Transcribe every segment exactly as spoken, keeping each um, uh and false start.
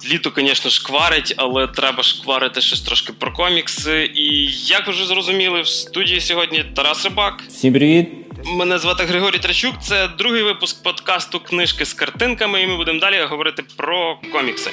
літо, звісно, шкварить, але треба шкварити щось трошки про комікси. І, як ви вже зрозуміли, в студії сьогодні Тарас Рибак. Всім привіт! Мене звати Григорій Трачук. Це другий випуск подкасту «Книжки з картинками», і ми будемо далі говорити про комікси.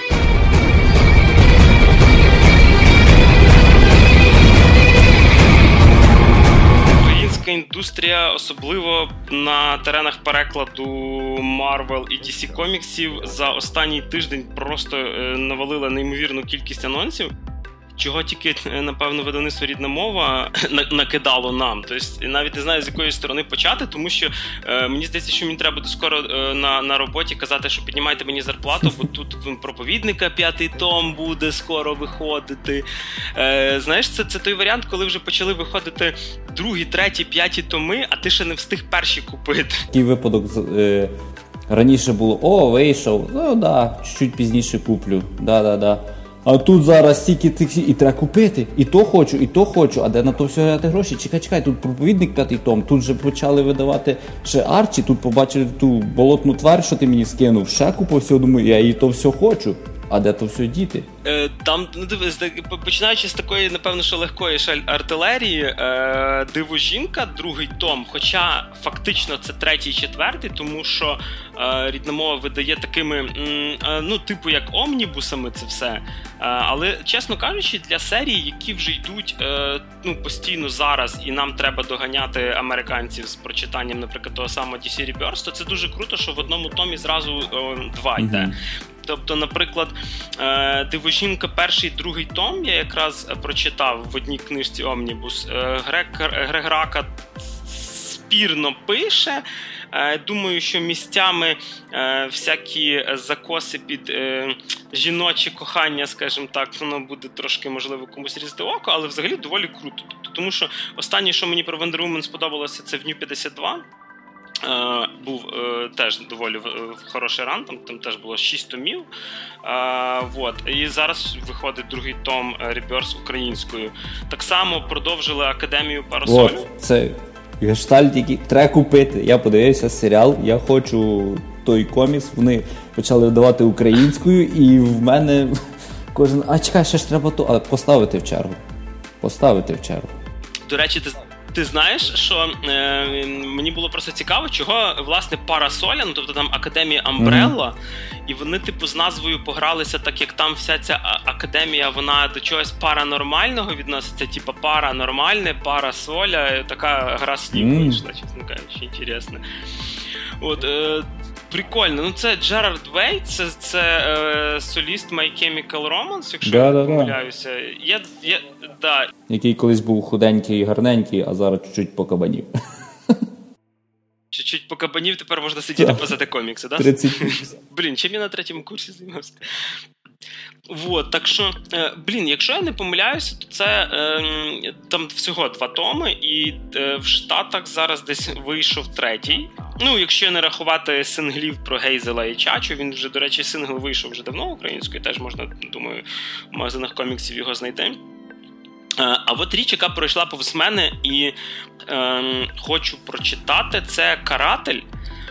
Українська індустрія, особливо на теренах перекладу Marvel і ді сі коміксів, за останній тиждень просто навалила неймовірну кількість анонсів, чого тільки, напевно, видавництво «Рідна мова» накидало нам. Тобто, навіть не знаю, з якої сторони почати, тому що е, мені здається, що мені треба буде скоро е, на, на роботі казати, що піднімайте мені зарплату, бо тут проповідника п'ятий том буде скоро виходити. Е, знаєш, це, це той варіант, коли вже почали виходити другі, треті, п'яті томи, а ти ще не встиг перші купити. Такий випадок е, раніше було: о, вийшов, ну да, чуть пізніше куплю, да-да-да. А тут зараз стільки тих, і треба купити, і то хочу, і то хочу, а де на то все взяти гроші? Чекай, чекай, тут проповідник п'ятий том, тут же почали видавати ще Арчі, тут побачили ту болотну тварь, що ти мені скинув, ще купу всього, думаю, я і то все хочу, а де то все діти? Е, там, ну дивись, починаючи з такої, напевно, що легкої ще артилерії, е, «Диво-жінка», другий том, хоча фактично це третій, четвертий, тому що е, «Рідна мова» видає такими, е, ну, типу як омнібусами це все, е, але, чесно кажучи, для серій, які вже йдуть е, ну, постійно зараз, і нам треба доганяти американців з прочитанням, наприклад, того самого ді сі Rebirth, то це дуже круто, що в одному томі зразу е, два йде. Mm-hmm. Тобто, наприклад, «Диво-жінка» перший, другий том я якраз прочитав в одній книжці «Омнібус». Грег, Грег Рака спірно пише. Думаю, що місцями всякі закоси під жіноче кохання, скажімо так, воно буде трошки, можливо, комусь різати око, але взагалі доволі круто. Тому що останнє, що мені про Wonder Woman сподобалося, це в New п'ятдесят два. Uh, був uh, теж доволі uh, хороший ран, там, там теж було шість томів. Uh, вот. І зараз виходить другий том Rebirth українською. Так само продовжили Академію Парасолю. От, це гештальт, який треба купити. Я подивився серіал, я хочу той комікс, вони почали видавати українською, і в мене кожен, а чекай, ще ж треба то, але поставити в чергу. Поставити в чергу. До речі, ти Ти знаєш, що е, мені було просто цікаво, чого, власне, Парасоля, ну, тобто там Академія Амбрелла, mm-hmm. і вони, типу, з назвою погралися, так як там вся ця академія, вона до чогось паранормального відноситься, типу паранормальне, Парасоля, така гра слів mm-hmm. вийшла, чесно кажучи, інтересно. От, е, прикольно. Ну, це Джерард Вей, це, це е, соліст My Chemical Romance, якщо да, я да, не помиляюся. Я, я, да. Який колись був худенький і гарненький, а зараз чуть-чуть покабанів. Чуть-чуть покабанів, тепер можна сидіти писати комікси, да? тридцять Блін, чим я на третьому курсі займався? Вот, так що, е, блін, якщо я не помиляюся, то це е, там всього два томи, і е, в Штатах зараз десь вийшов третій. Ну, якщо не рахувати синглів про Гейзела і Чачу, він вже, до речі, сингл вийшов вже давно українською, теж можна, думаю, в магазинах коміксів його знайти. Е, а от річ, яка пройшла повз мене і е, хочу прочитати, це «Каратель».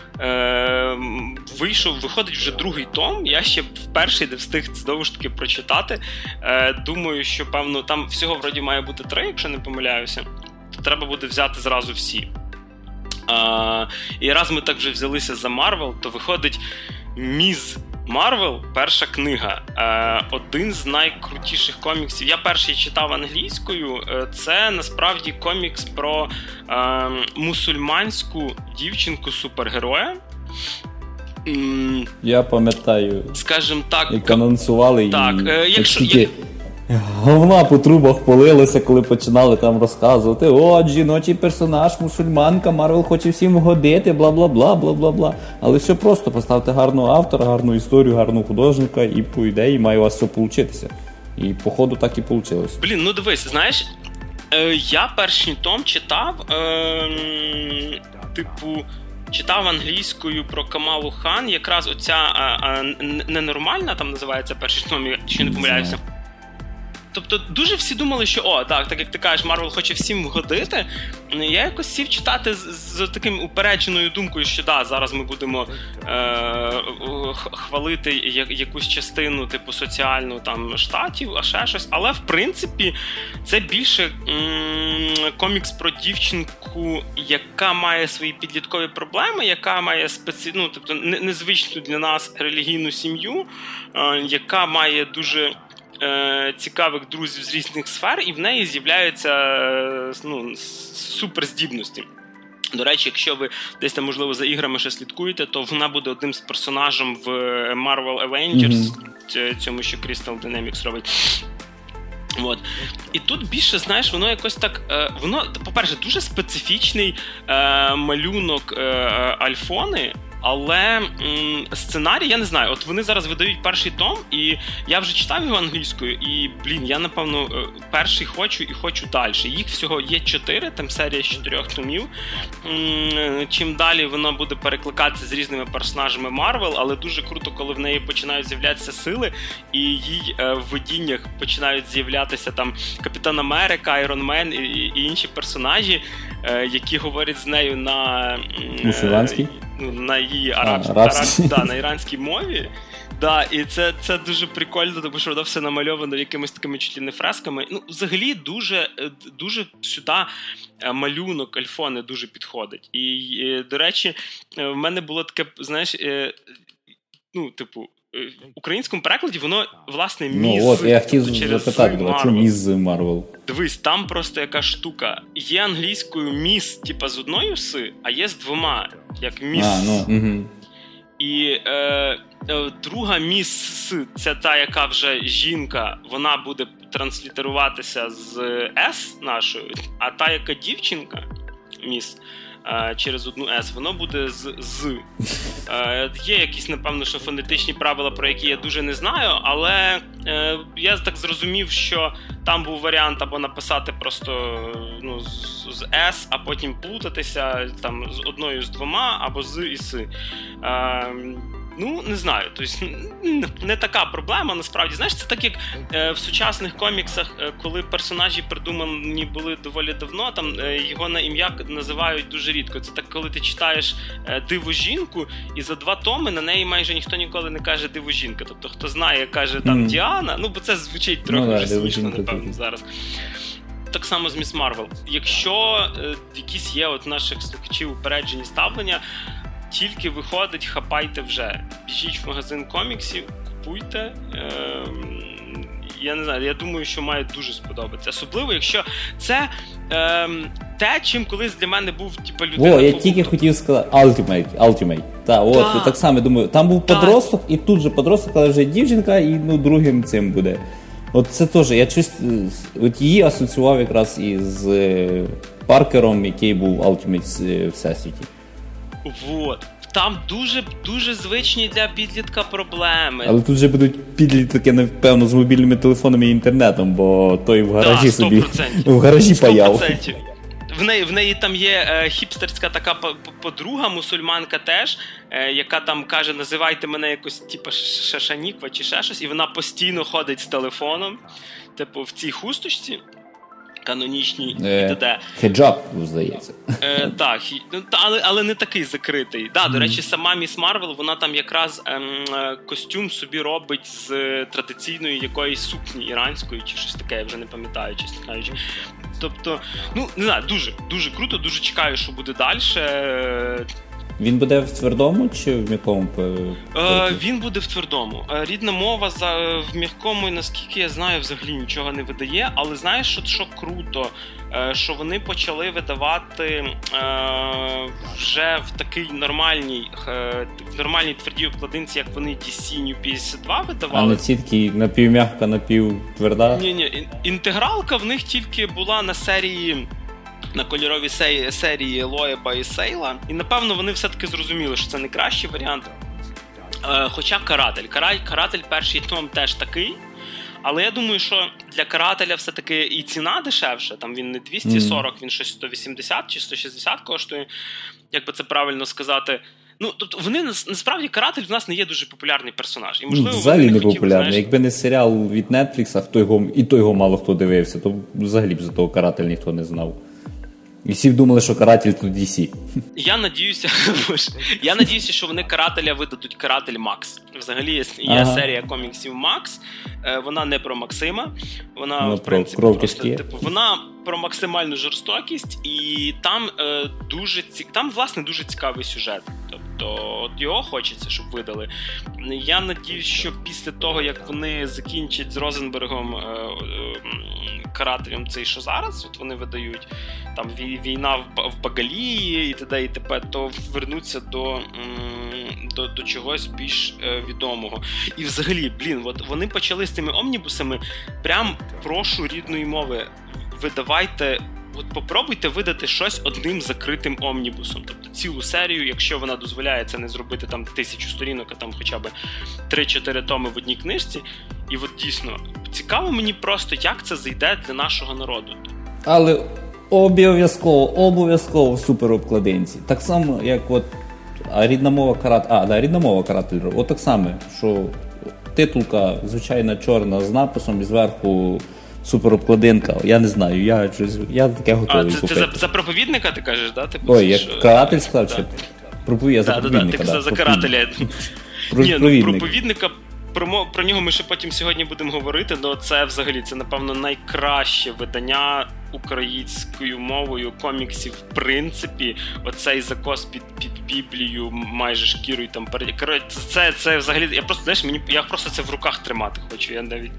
Е, вийшов, виходить вже другий том, я ще перший не встиг знову ж таки прочитати. Е, думаю, що, певно, там всього вроді має бути три, якщо не помиляюся, то треба буде взяти зразу всі. Е, і раз ми так вже взялися за Марвел, то виходить «Міз Марвел», перша книга. Е, один з найкрутіших коміксів. Я перший читав англійською. Е, це насправді комікс про е, мусульманську дівчинку-супергероя. М, Я пам'ятаю, скажімо так, як анонсували, так, і е, якщо, скільки говна по трубах полилося, коли починали там розказувати: от, жіночий персонаж, мусульманка, Марвел хоче всім вгодити, бла-бла-бла, бла-бла-бла. Але все просто, поставте гарного автора, гарну історію, гарного художника, і по ідеї має у вас все получитися. І походу так і вийшло. Блін, ну дивись, знаєш, е, я перший том читав, е, типу, читав англійською про Камалу Хан, якраз оця а, а, ненормальна, там називається перший том, якщо не помиляюся. тобто дуже всі думали, що о, так, так як ти кажеш, Марвел хоче всім вгодити. Я якось сів читати з, з таким упередженою думкою, що да, зараз ми будемо е, хвалити якусь частину типу соціальну там штатів, а ще щось. Але в принципі це більше м- комікс про дівчинку, яка має свої підліткові проблеми, яка має спеці... ну, тобто незвичну для нас релігійну сім'ю, е, яка має дуже е, цікавих друзів з різних сфер, і в неї з'являються е, ну, суперздібності. До речі, якщо ви десь там, можливо, за іграми ще слідкуєте, то вона буде одним з персонажем в Marvel Avengers, mm-hmm. цьому, що Crystal Dynamics робить. От. І тут більше, знаєш, воно якось так, е, воно, по-перше, дуже специфічний е, малюнок е, Альфони, але м, сценарій, я не знаю, от вони зараз видають перший том, і я вже читав його англійською, і, блін, я, напевно, перший хочу і хочу далі. Їх всього є чотири, там серія з чотирьох томів. М, чим далі воно буде перекликатися з різними персонажами Марвел, але дуже круто, коли в неї починають з'являтися сили, і їй е, в видіннях починають з'являтися там Капітан Америка, Айрон Мен і, і інші персонажі, е, які говорять з нею на... Мусульманській? на її арабській, а, арабській, да, на іранській мові. Да, і це, це дуже прикольно, тому що воно все намальовано якимись такими чуть ли не фресками. Ну, взагалі, дуже, дуже сюди малюнок Альфони дуже підходить. І, і, до речі, в мене було таке, знаєш, ну, типу, в українському перекладі воно, власне, міс. Ну, от, я хотів запитати, а чому міс з Марвел? Дивись, там просто яка штука. Є англійською міс, типа, з одною си, а є з двома, як міс. А, ну, угу. І е, е, друга міс, це та, яка вже жінка, вона буде транслітеруватися з С нашою, а та, яка дівчинка, міс, через одну S, воно буде з з. Е, є якісь, напевно, що фонетичні правила, про які я дуже не знаю, але е, я так зрозумів, що там був варіант або написати просто ну, з, з S, а потім плутатися там з одною з двома, або з і с. Е, Ну, не знаю, тобто не така проблема, насправді. Знаєш, це так, як е, в сучасних коміксах, е, коли персонажі придумані були доволі давно, там е, його на ім'я називають дуже рідко. Це так, коли ти читаєш е, «Диву жінку», і за два томи на неї майже ніхто ніколи не каже «Диву жінка». Тобто, хто знає, каже там mm. Діана, ну, бо це звучить трохи ну, вже да, смішно, напевно, тут. Зараз. Так само з Міс Марвел. Якщо е, якісь є от наших слухачів упереджені ставлення, тільки виходить, хапайте вже. Біжіть в магазин коміксів, купуйте. Ем, я не знаю, я думаю, що має дуже сподобатися. Особливо, якщо це ем, те, чим колись для мене був типу, людина... О, я тільки хотів сказати Ultimate. Ultimate. Та, от, да. Так само, думаю, там був подросток, і тут же подросток, але вже дівчинка, і ну, другим цим буде. От це теж, я чувствую, от її асоціював якраз із Паркером, який був Ultimate Всесвіті. Вот. Там дуже, дуже звичні для підлітка проблеми. Але тут же будуть підлітки, напевно, з мобільними телефонами і інтернетом, бо той в гаражі да, собі в гаражі паяв. В неї, в неї там є е, хіпстерська така подруга, мусульманка теж, е, яка там каже, називайте мене якось, типу, Шашаніква чи ще щось, і вона постійно ходить з телефоном, типу, в цій хусточці. Канонічній е, і т.д. Хеджаб, здається. Е, так, але, але не такий закритий. Да, mm. До речі, сама Міс Марвел, вона там якраз ем, костюм собі робить з традиційної якоїсь сукні іранської, чи щось таке, я вже не пам'ятаю, чесно кажучи. Тобто, ну, не знаю, дуже, дуже круто, дуже чекаю, що буде далі. Він буде в твердому чи в м'якому? Е, він буде в твердому. Рідна мова за, в м'якому, наскільки я знаю, взагалі нічого не видає. Але знаєш, що, що круто? Е, що вони почали видавати е, вже в такій нормальній, е, в нормальній твердій обкладинці, як вони ді сі New п'ятдесят два видавали. А не ці такі напівм'яка, напівтверда? Ні-ні, інтегралка в них тільки була на серії... на кольоровій серії Лоеба і Сейла. І, напевно, вони все-таки зрозуміли, що це не кращий варіант. Е, хоча Каратель. Каратель перший том теж такий. Але я думаю, що для Карателя все-таки і ціна дешевша. Там він не двісті сорок, mm. він щось сто вісімдесят чи сто шістдесят коштує. Як би це правильно сказати. Ну, тобто вони, насправді, Каратель в нас не є дуже популярний персонаж. І, можливо, ну, взагалі не, не хотіли, популярний. Знаєш... Якби не серіал від Netflix, хто його, і то його мало хто дивився, то взагалі б за того Каратель ніхто не знав. І всі думали, що Каратель тут ді сі. Я надіюся, я надіюся, що вони Карателя видадуть Каратель Макс. Взагалі є, є ага. серія коміксів Макс. Вона не про Максима. Вона, ну, в принципі, про просто, типу, вона про максимальну жорстокість, і там е, дуже ці... там, власне, дуже цікавий сюжет. Тобто, от його хочеться, щоб видали. Я надіюсь, що після того, як вони закінчать з Розенбергом е, е, Карателем цей, що зараз, от вони видають, там війна в, в Багалії і т.д. і т.п., то вернуться до, до, до чогось більш е, відомого. І взагалі, блін, от вони почали з цими омнібусами, прям прошу рідної мови, видавайте, от попробуйте видати щось одним закритим омнібусом. Тобто цілу серію, якщо вона дозволяє це не зробити там тисячу сторінок, а там хоча б три-чотири томи в одній книжці. І от дійсно, цікаво мені просто, як це зайде для нашого народу. Але обов'язково, обов'язково в суперобкладинці. Так само, як от а рідна мова Каратель, а, да, рідна мова Каратель, от так само, що титулка, звичайна чорна, з написом і зверху суперобкладинка, я не знаю, я, я таке готовий купити. А, це, це за, за проповідника ти кажеш, да? Ти Ой, як що... Каратель сказав, чи проповідника, за проповідника. Так, так, ти казав за Карателя. Ні, ну, проповідника, про, про нього ми ще потім сьогодні будемо говорити, але це взагалі, це, напевно, найкраще видання українською мовою коміксів, в принципі, оцей закос під, під Біблію, майже шкірою там перед... Коротше, це, це взагалі, я просто, знаєш, мені, я просто це в руках тримати хочу, я навіть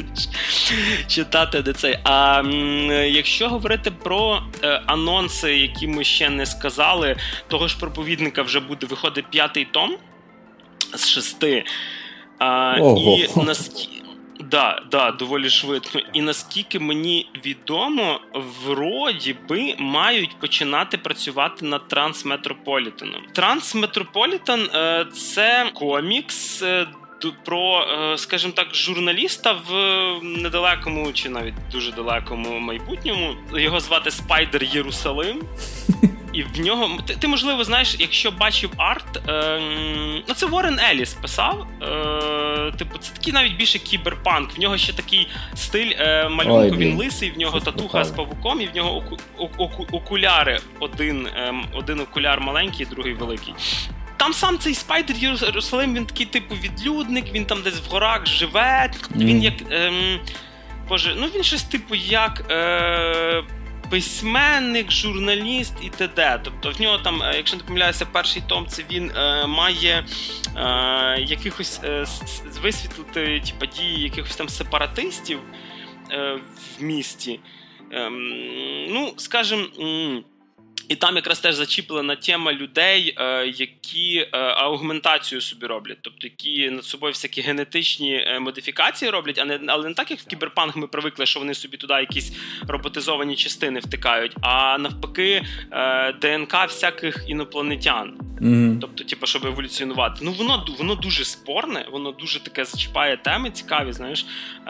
читати де цей. А м, якщо говорити про е, анонси, які ми ще не сказали, того ж проповідника вже буде виходить п'ятий том з шести. А, і наскільки... Да, да, доволі швидко. І наскільки мені відомо, вроді би мають починати працювати над Трансметрополітеном. Трансметрополітен е, – це комікс е, про, е, скажімо так, журналіста в недалекому чи навіть дуже далекому майбутньому. Його звати Спайдер Єрусалим. І в нього, ти, ти, можливо, знаєш, якщо бачив арт, е, ну це Уоррен Елліс писав, е, типу, це такий навіть більше кіберпанк, в нього ще такий стиль е, малюнку, Ой, він лисий, в нього татуха з павуком, і в нього оку, оку, окуляри, один, е, один окуляр маленький, другий великий. Там сам цей Спайдер Єрусалим, він такий типу відлюдник, він там десь в горах живе, mm. він як, е, боже, ну він щось типу як... Е, письменник, журналіст і т.д. Тобто в нього там, якщо не помиляюся, перший том, це він е, має е, якихось е, висвітлити типу, дії якихось там сепаратистів е, в місті. Е, ну, скажімо, і там якраз теж зачіплена тема людей, е, які е, аугментацію собі роблять, тобто які над собою всякі генетичні е, модифікації роблять, а не, але не так, як в кіберпанк ми привикли, що вони собі туди якісь роботизовані частини втикають, а навпаки е, ДНК всяких інопланетян. Mm-hmm. Тобто, типу, щоб еволюціонувати. Ну, воно, воно дуже спорне, воно дуже таке зачіпає теми цікаві, знаєш. Е,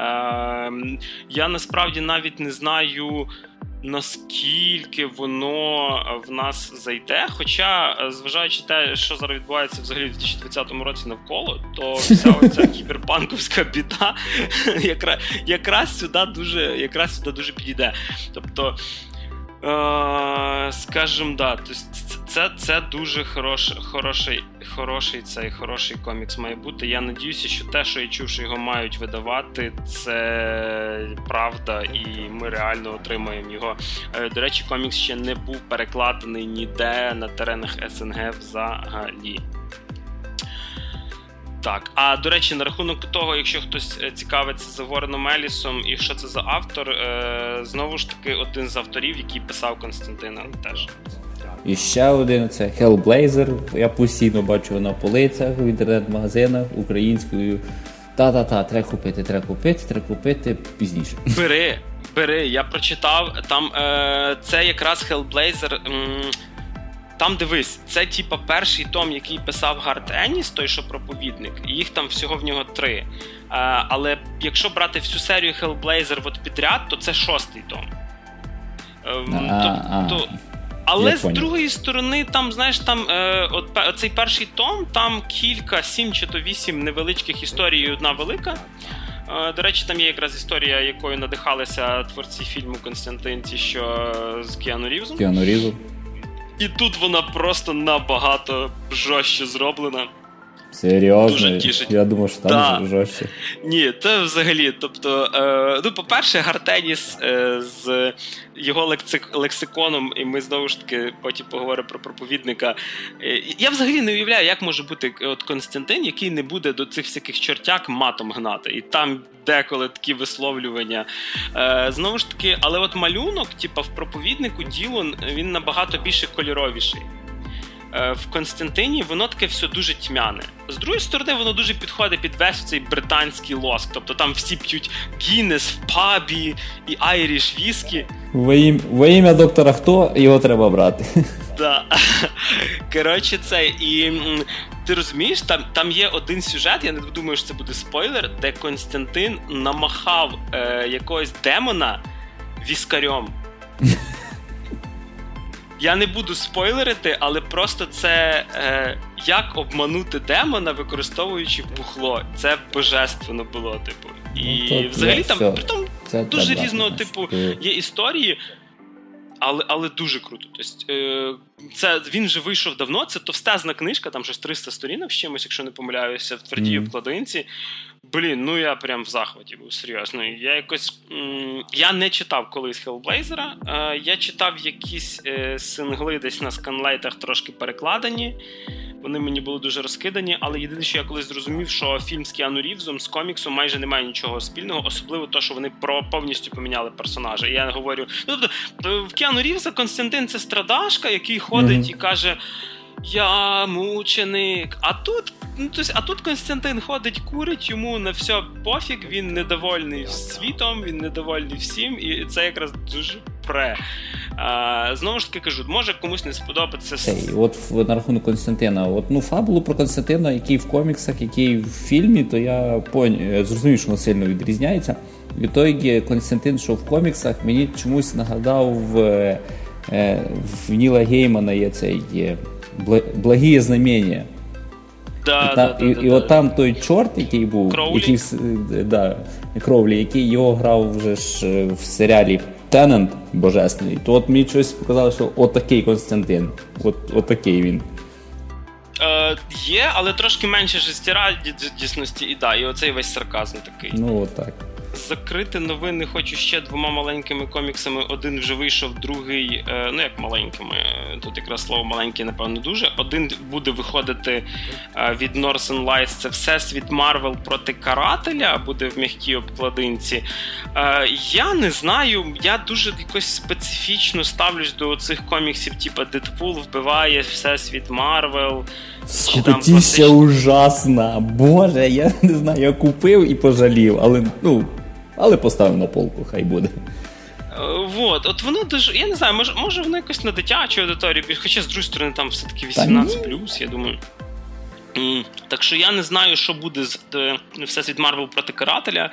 я насправді навіть не знаю, наскільки воно в нас зайде, хоча, зважаючи те, що зараз відбувається взагалі в дві тисячі двадцятому році навколо, то вся оця кіберпанковська біда якраз, якраз сюди дуже, якраз сюди дуже підійде. Тобто, е, скажімо, да, це, це дуже хороший, хороший, хороший, цей, хороший комікс має бути. Я надіюся, що те, що я чув, що його мають видавати, це правда, і ми реально отримаємо його. До речі, комікс ще не був перекладений ніде на теренах СНГ взагалі. Так, а до речі, на рахунок того, якщо хтось цікавиться за Уорреном Еллісом і що це за автор, е, знову ж таки, один з авторів, який писав Константина, теж. І ще один, це Hellblazer, я постійно бачу на полицях, в інтернет-магазинах українською. Та-та-та, треба купити, треба купити, треба купити пізніше. Бери, бери, я прочитав, там е, це якраз Hellblazer, м, там дивись, це типа перший том, який писав Гарт Енніс, той, що проповідник, і їх там всього в нього три. Е, але якщо брати всю серію Hellblazer от підряд, то це шостий том. Е, тобто... Але Я з понял. другої сторони, там, знаєш, там е, от, оцей перший том, там кілька, сім чи то вісім невеличких історій і одна велика. Е, до речі, там є якраз історія, якою надихалися творці фільму «Константин», ті, що з Кіану Рівзом. Кіану Рівзом. І тут вона просто набагато жорстче зроблена. Серйозно? Дуже тішить. Я думав, що там Да. жорстче. Ні, це взагалі, тобто, е, ну, по-перше, Гартеніс е, з його лексик, лексиконом, і ми знову ж таки потім поговоримо про проповідника. Е, я взагалі не уявляю, як може бути от Константин, який не буде до цих всяких чортяк матом гнати. І там деколи такі висловлювання. Е, знову ж таки, але от малюнок, типа в проповіднику Ділон, він набагато більше кольоровіший. В Константині воно таке все дуже тьмяне. З другої сторони, воно дуже підходить під весь цей британський лоск. Тобто там всі п'ють Гіннес в пабі і айріш віскі. Во ім'я, во ім'я доктора Хто, його треба брати. Да. Коротше, це, і м, ти розумієш, там, там є один сюжет, я не думаю, що це буде спойлер, де Константин намахав е, якогось демона віскарем. Я не буду спойлерити, але просто це е, як обманути демона, використовуючи бухло. Це божественно було, типу. І ну, взагалі там, все. притом Це дуже так, різного значить, типу ти... є історії, але, але дуже круто. Тобто, е, це, він вже вийшов давно, це товстезна книжка, там щось триста сторінок з чимось, якщо не помиляюся, в твердій mm. обкладинці. Блін, ну я прям в захваті був, серйозно. Я якось... М- я не читав колись Хеллблейзера, е- я читав якісь е- сингли десь на сканлайтах трошки перекладені, вони мені були дуже розкидані, але єдине, що я колись зрозумів, що фільм з Кіану Рівзом, з коміксом майже немає нічого спільного, особливо то, що вони про повністю поміняли персонажа. І я говорю... Ну, тобто, в Кіану Рівза Константин — це страдашка, який ходить mm-hmm. і каже... Я мученик. А тут, ну, тобто, а тут Константин ходить, курить, йому на все пофіг, він недовольний світом, він недовольний всім, і це якраз дуже пре. А, знову ж таки кажу, може комусь не сподобається. Hey, от на рахунок Константина, от, ну, фабулу про Константина, який в коміксах, який в фільмі, то я пон... зрозумів, що воно сильно відрізняється. Відтоді Константин, що в коміксах, мені чомусь нагадав в, в Ніла Геймана є цей є «Благие знамення». Да, і, да, та, да, і, да, і да. от там той чорт, який був, Кроулі. який, да, Кроулі, який його грав вже ж в серіалі «Теннант» божественний, то от мені щось показало, що отакий Константин, от, отакий він. Е, є, але трошки менше життєрадісності, і да, і оцей весь сарказм такий. Ну, от так. Закрити новини хочу ще двома маленькими коміксами. Один вже вийшов, другий, е, ну як маленькими, тут якраз слово маленький, напевно, дуже. Один буде виходити е, від Northern Lights, це Всесвіт Марвел проти Карателя, буде в м'якій обкладинці. Е, я не знаю, я дуже якось специфічно ставлюсь до цих коміксів, типу Дедпул вбиває Всесвіт Марвел. Скукотіща ужасна. Боже, я не знаю, я купив і пожалів, але, ну, але поставив на полку, хай буде. Вот, от воно дуже, я не знаю, може, може воно якось на дитячу аудиторію, хоча з другої сторони там все-таки вісімнадцять плюс, я думаю. Mm. Так що я не знаю, що буде з Всесвіт Марвел проти Карателя.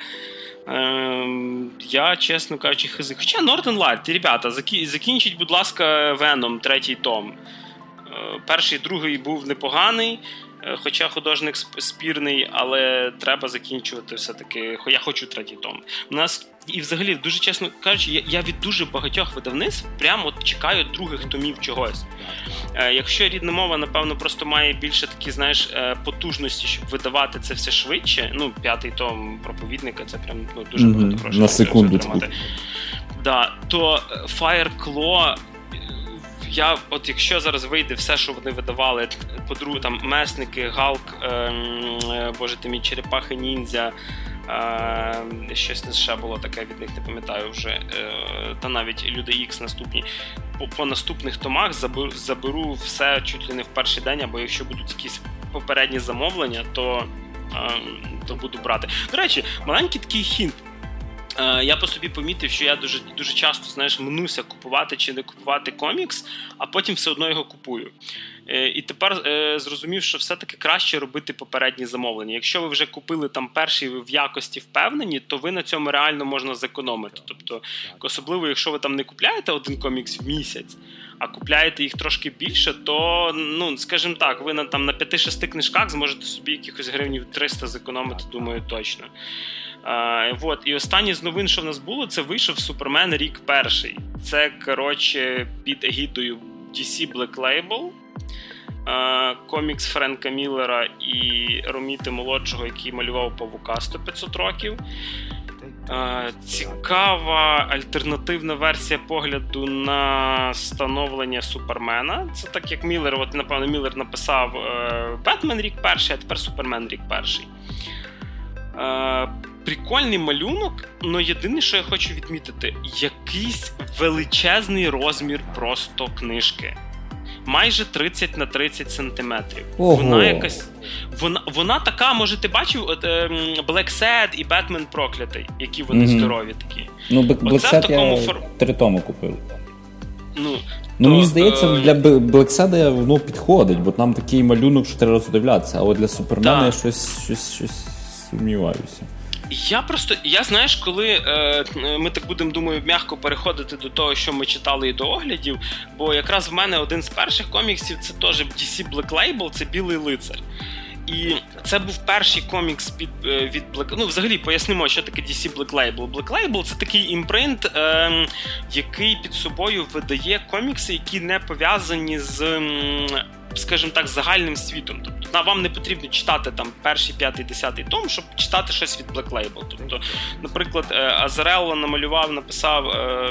Ем, я, чесно кажучи, хизи. Хоча Northern Light, ребята, закінчіть, будь ласка, Веном, третій том. Перший, другий був непоганий, хоча художник спірний, але треба закінчувати все-таки. Я хочу третій том. У нас, і взагалі, дуже чесно кажучи, я, я від дуже багатьох видавництв прямо от чекаю других томів чогось. Е, якщо рідна мова, напевно, просто має більше такі, знаєш, потужності, щоб видавати це все швидше, ну, п'ятий том проповідника, це прям ну, дуже mm-hmm. багато грошей. На секундочку. Да, то Fire Claw, я, от якщо зараз вийде все, що вони видавали, по-друге, там Месники, Галк, ем, боже ти мій, Черепахи Ніндзя, ем, щось ще було таке, від них не пам'ятаю вже, е, та навіть Люди Ікс наступні. По, по наступних томах заберу, заберу все чуть ли не в перший день, або якщо будуть якісь попередні замовлення, то, ем, то буду брати. До речі, маленький такий хінт. Я по собі помітив, що я дуже, дуже часто, знаєш, мнуся купувати чи не купувати комікс, а потім все одно його купую. І тепер е, зрозумів, що все-таки краще робити попередні замовлення. Якщо ви вже купили там перший, ви в якості впевнені, то ви на цьому реально можна зекономити. Тобто, особливо, якщо ви там не купляєте один комікс в місяць, а купляєте їх трошки більше, то, ну, скажімо так, ви на, там, на п'яти-шести книжках зможете собі якихось гривнів триста зекономити, думаю, точно. Uh, вот. І останнє з новин, що в нас було, це вийшов Супермен рік перший. Це, коротше, під егідою ді сі Black Label, uh, комікс Френка Міллера і Роміти Молодшого, який малював Павука сто п'ятсот років. Uh, цікава альтернативна версія погляду на становлення Супермена. Це так, як Міллер, от, напевно, Міллер написав uh, Бетмен рік перший, а тепер Супермен рік перший. Uh, Прикольний малюнок, але єдине, що я хочу відмітити, якийсь величезний розмір просто книжки. Майже тридцять на тридцять сантиметрів. Ого. Вона якась... Вона, вона така, може, ти бачив, от, е, Black Sad і Бетмен Проклятий, які вони mm-hmm. здорові такі. Ну, Black Sad такому я фор... три тому купив. Ну, ну то, мені здається, е... для Black Sad воно підходить, бо там такий малюнок, що треба роздивлятися, а от для Супермена я щось, щось, щось сумніваюся. Я просто, я знаєш, коли е, ми так будемо, думаю, м'яко переходити до того, що ми читали і до оглядів, бо якраз в мене один з перших коміксів, це теж ді сі Black Label, це Білий лицар. І це був перший комікс під, від Black... Ну, взагалі, пояснимо, що таке ді сі Black Label. Black Label – це такий імпринт, е, який під собою видає комікси, які не пов'язані з, скажімо так, загальним світом. Тобто вам не потрібно читати там перший, п'ятий, десятий том, щоб читати щось від Black Label. Тобто, наприклад, Азарелло намалював, написав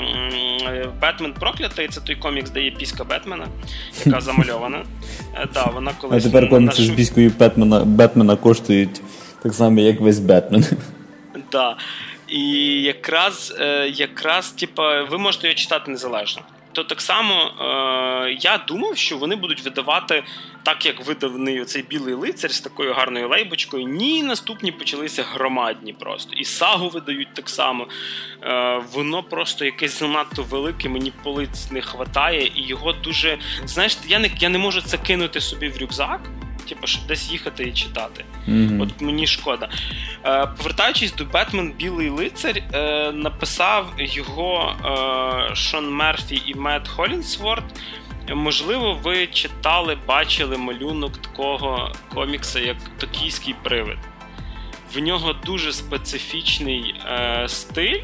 Бетмен Проклятий, це той комікс, де є піська Бетмена, яка замальована. Да, вона колись... А тепер комікси з піською Бетмена, Бетмена коштують так само, як весь Бетмен. Так. Да. І якраз, якраз типа, ви можете його читати незалежно. То так само е, я думав, що вони будуть видавати так, як виданий оцей Білий лицар з такою гарною лейбочкою. Ні, наступні почалися громадні просто. І сагу видають так само. Е, воно просто якесь занадто велике, мені полиць не хватає, і його дуже... Знаєш, я не, я не можу це кинути собі в рюкзак, типу, щоб десь їхати і читати. Mm-hmm. От мені шкода. Е, повертаючись до Бетмен Білий лицар, е, написав його е, Шон Мерфі і Мет Холлінсворт. Можливо, ви читали, бачили малюнок такого комікса, як «Токійський привид». В нього дуже специфічний е, стиль.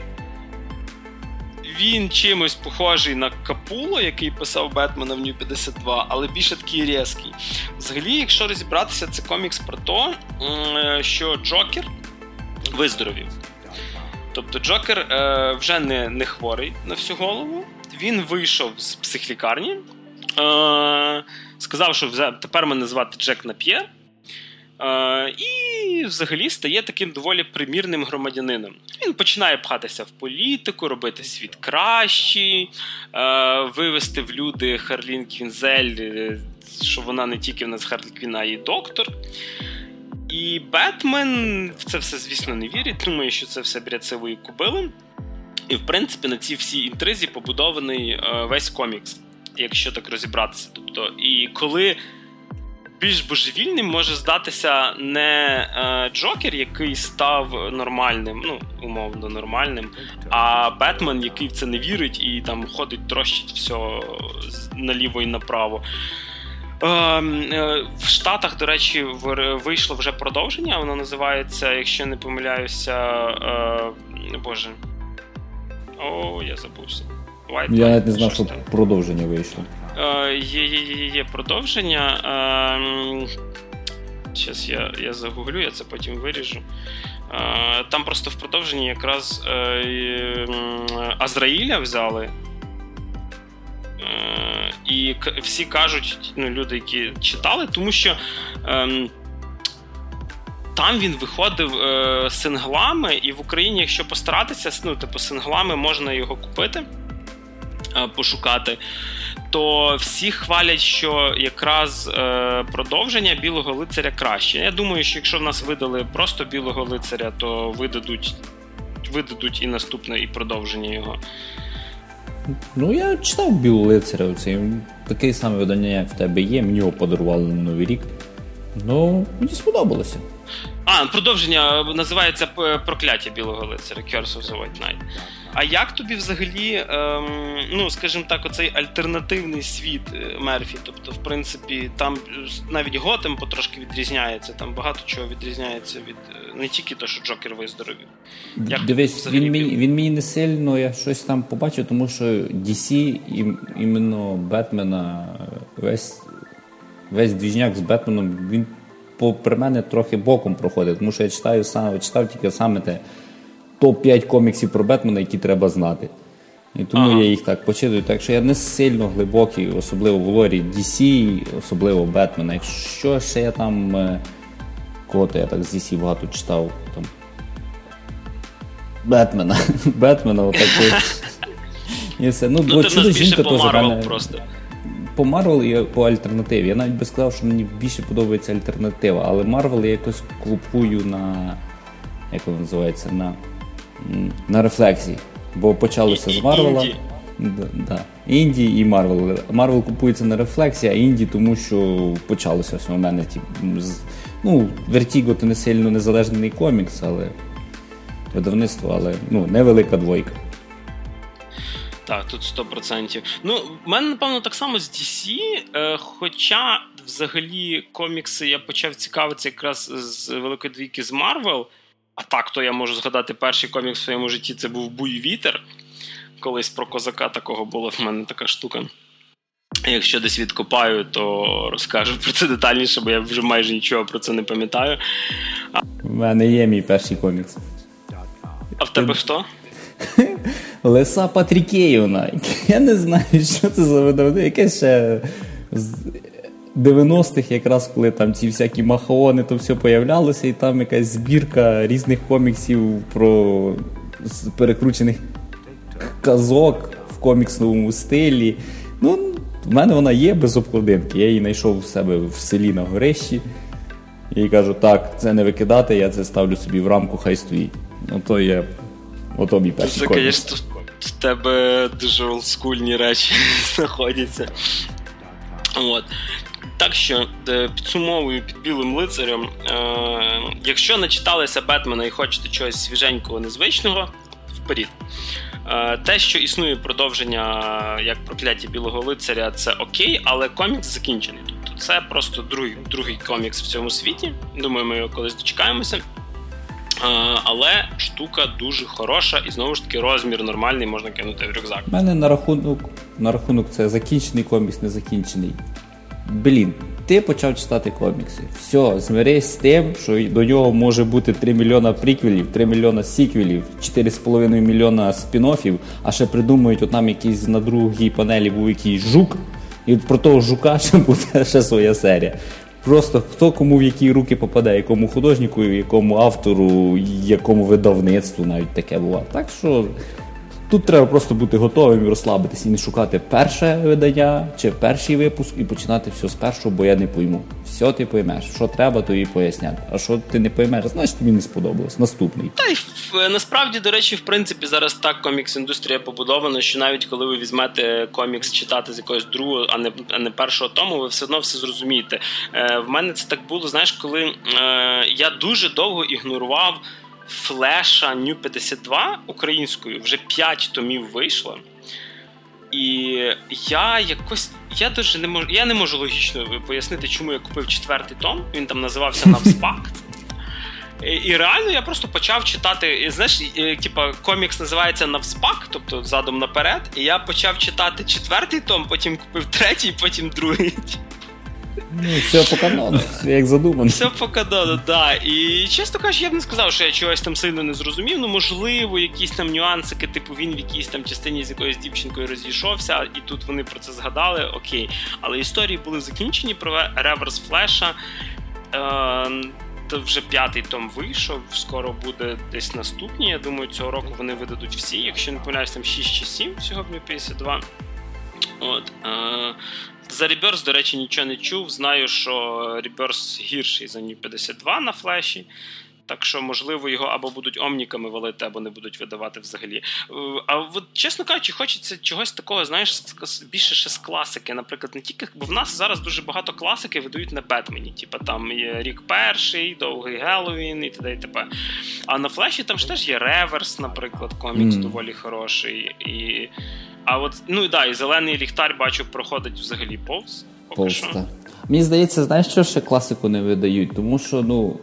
Він чимось похожий на Капуло, який писав Бетмена в Нью п'ятдесят два, але більше такий різкий. Взагалі, якщо розібратися, це комікс про те, що Джокер виздоровів. Тобто Джокер е, вже не, не хворий на всю голову. Він вийшов з психлікарні, е, сказав, що тепер мене звати Джек Нап'єр. Uh, і взагалі стає таким доволі примірним громадянином. Він починає пхатися в політику, робити світ кращий, uh, вивести в люди Харлін Квінзель, що вона не тільки в нас Харлі Квін, а й доктор. І Бетмен в це все, звісно, не вірить, думає, що це все бред сивої кобили. І, в принципі, на цій всій інтризі побудований uh, весь комікс, якщо так розібратися. Тобто, і коли більш божевільним може здатися не е, Джокер, який став нормальним, ну, умовно нормальним, а Бетмен, який в це не вірить і там ходить, трощить все наліво і направо. Е, е, в Штатах, до речі, вийшло вже продовження, воно називається, якщо не помиляюся, е, боже, о, я забувся. White я Light, навіть не знав, що там продовження вийшло. Е, є, є, є, є продовження. Зараз е, я, я загуглю, я це потім виріжу. Е, там просто в продовженні якраз е, е, Азраїля взяли. Е, і к- всі кажуть, ну, люди, які читали, тому що е, там він виходив е, синглами, і в Україні, якщо постаратися, ну, типу, синглами можна його купити, е, пошукати. То всі хвалять, що якраз е, продовження Білого лицаря краще. Я думаю, що якщо в нас видали просто Білого лицаря, то видадуть, видадуть і наступне, і продовження його. Ну, я читав Білого лицаря. Це таке саме видання, як в тебе є. Мені його подарували на Новий рік. Ну, мені сподобалося. А, продовження називається «Прокляття білого лицаря», Curse of the White Knight. А як тобі взагалі, ем, ну, скажімо так, оцей альтернативний світ Мерфі? Тобто, в принципі, там навіть Готем потрошки відрізняється, там багато чого відрізняється від, не тільки те, що Джокер виздоровів. Як Дивись, він мені, він мені не сильно, я щось там побачив, тому що ді сі, іменно Бетмена, весь, весь двіжняк з Бетменом, він попри мене трохи боком проходить, тому що я читаю сам, читав тільки саме те топ п'ять коміксів про Бетмена, які треба знати. І тому ага. я їх так почитую. Так що я не сильно глибокий, особливо в лорі ді сі, особливо Бетмена. Якщо ще я там кого-то я так з ді сі багато читав, там Бетмена. Бетмена отак. І все. Ну, ну ти в нас більше по Марвел просто. По Марвел і по альтернативі. Я навіть би сказав, що мені більше подобається альтернатива, але Марвел я якось купую на, як воно називається, на, на рефлексії. Бо почалося з Марвела. Інді. Да, да. Інді і Марвел. Марвел купується на рефлексії, а Інді тому, що почалося все у мене. Ну, Vertigo – це не сильно незалежний комікс, але видавництво, але ну, невелика двойка. Так, тут сто відсотків. Ну, в мене, напевно, так само з ді сі, е, хоча, взагалі, комікси я почав цікавитися якраз з Великої двійки з Марвел, а так, то я можу згадати перший комікс в своєму житті, це був «Буй вітер», колись про козака такого була в мене така штука. Якщо десь відкопаю, то розкажу про це детальніше, бо я вже майже нічого про це не пам'ятаю. А... У мене є мій перший комікс. А в тебе хто? Лиса Патрікеївна. Я не знаю, що це за видавництво. Якесь ще з дев'яностих, якраз коли там ці всякі махаони, то все появлялося, і там якась збірка різних коміксів про перекручених казок в коміксному стилі. Ну, в мене вона є без обкладинки. Я її знайшов в себе в селі на горищі. І кажу, так, це не викидати, я це ставлю собі в рамку, хай стоїть. Ну, то є... Ото мій перший це, комікс. Це, звісно, в тебе дуже олдскульні речі знаходяться. От. Так що, підсумовую під білим лицарем, е- якщо не читалися Бетмена і хочете чогось свіженького, незвичного, вперед. Е- те, що існує продовження як «Прокляття білого лицаря», це окей, але комікс закінчений. Тобто це просто другий, другий комікс в цьому світі. Думаю, ми його колись дочекаємося. Uh, але штука дуже хороша і, знову ж таки, розмір нормальний, можна кинути в рюкзак. У мене на рахунок, на рахунок це закінчений комікс, не закінчений. Блін, ти почав читати комікси. Все, змирись з тим, що до нього може бути три мільйона приквелів, три мільйона сіквелів, чотири з половиною мільйона спін-оффів, а ще придумують, от нам якийсь на другій панелі був якийсь жук, і про того жука ще буде ще своя серія. Просто хто кому в які руки попаде, якому художнику, якому автору, якому видавництву навіть таке буває. Так що тут треба просто бути готовим і розслабитись, і не шукати перше видання чи перший випуск і починати все з першого, бо я не пойму. Все ти поймеш, що треба, то і поясняти. А що ти не поймеш, значить тобі не сподобалось. Наступний. Та й насправді, до речі, в принципі, зараз так комікс-індустрія побудована, що навіть коли ви візьмете комікс читати з якогось другого, а не, а не першого тому, ви все одно все зрозумієте. Е, в мене це так було, знаєш, коли е, я дуже довго ігнорував Флеша Нью п'ятдесят два українською, вже п'ять томів вийшло. І я якось, я дуже не можу, я не можу логічно пояснити, чому я купив четвертий том, він там називався «Навспакт». І, і реально я просто почав читати, і, знаєш, і, типа комікс називається «Навспак», тобто задом наперед, і я почав читати четвертий том, потім купив третій, потім другий. Ну, все по канону, як задумано. Все по канону, да. І, чесно кажучи, я б не сказав, що я чогось там сильно не зрозумів. Ну, можливо, якісь там нюансики, типу він в якійсь там частині з якоюсь дівчинкою розійшовся, і тут вони про це згадали, окей. Але історії були закінчені про реверс Флеша. Е- то вже п'ятий том вийшов, скоро буде десь наступні. Я думаю, цього року вони видадуть всі. Якщо не помиляюсь, там шість чи сім всього в Нью п'ятдесят два. От. Е- За Rebirth, до речі, нічого не чув. Знаю, що Rebirth гірший за Нью п'ятдесят два на флеші. Так що, можливо, його або будуть омніками валити, або не будуть видавати взагалі. А от, чесно кажучи, хочеться чогось такого, знаєш, більше ще з класики. Наприклад, не тільки, бо в нас зараз дуже багато класики видають на Бетмені. Типа там є Рік Перший, Довгий Геловін і т.д. і т.п. А на Флеші там ж теж є Реверс, наприклад, комікс mm. доволі хороший. І... А от, ну і да, і Зелений ліхтар, бачу, проходить взагалі повз. Повз, так. Мені здається, знаєш, що ще класику не видають? Тому що, ну,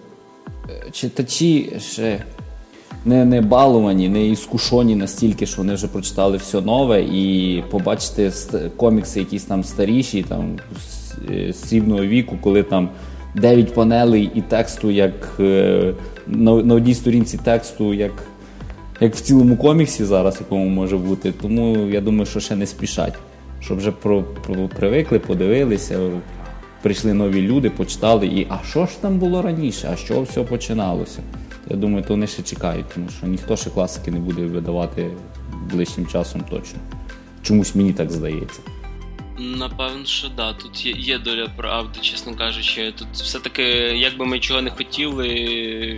читачі ще не, не балувані, не іскушені настільки, що вони вже прочитали все нове, і побачити комікси якісь там старіші, там, срібного віку, коли там дев'ять панелей і тексту, як на, на одній сторінці тексту, як, як в цілому коміксі зараз, якому може бути. Тому я думаю, що ще не спішать. Щоб вже про, про, привикли, подивилися, прийшли нові люди, почитали, і а що ж там було раніше, а що все починалося? Я думаю, то вони ще чекають, тому що ніхто ще класики не буде видавати ближчим часом точно. Чомусь мені так здається. Напевно, що да, тут є, є доля правди, чесно кажучи. Тут все-таки, як би ми чого не хотіли,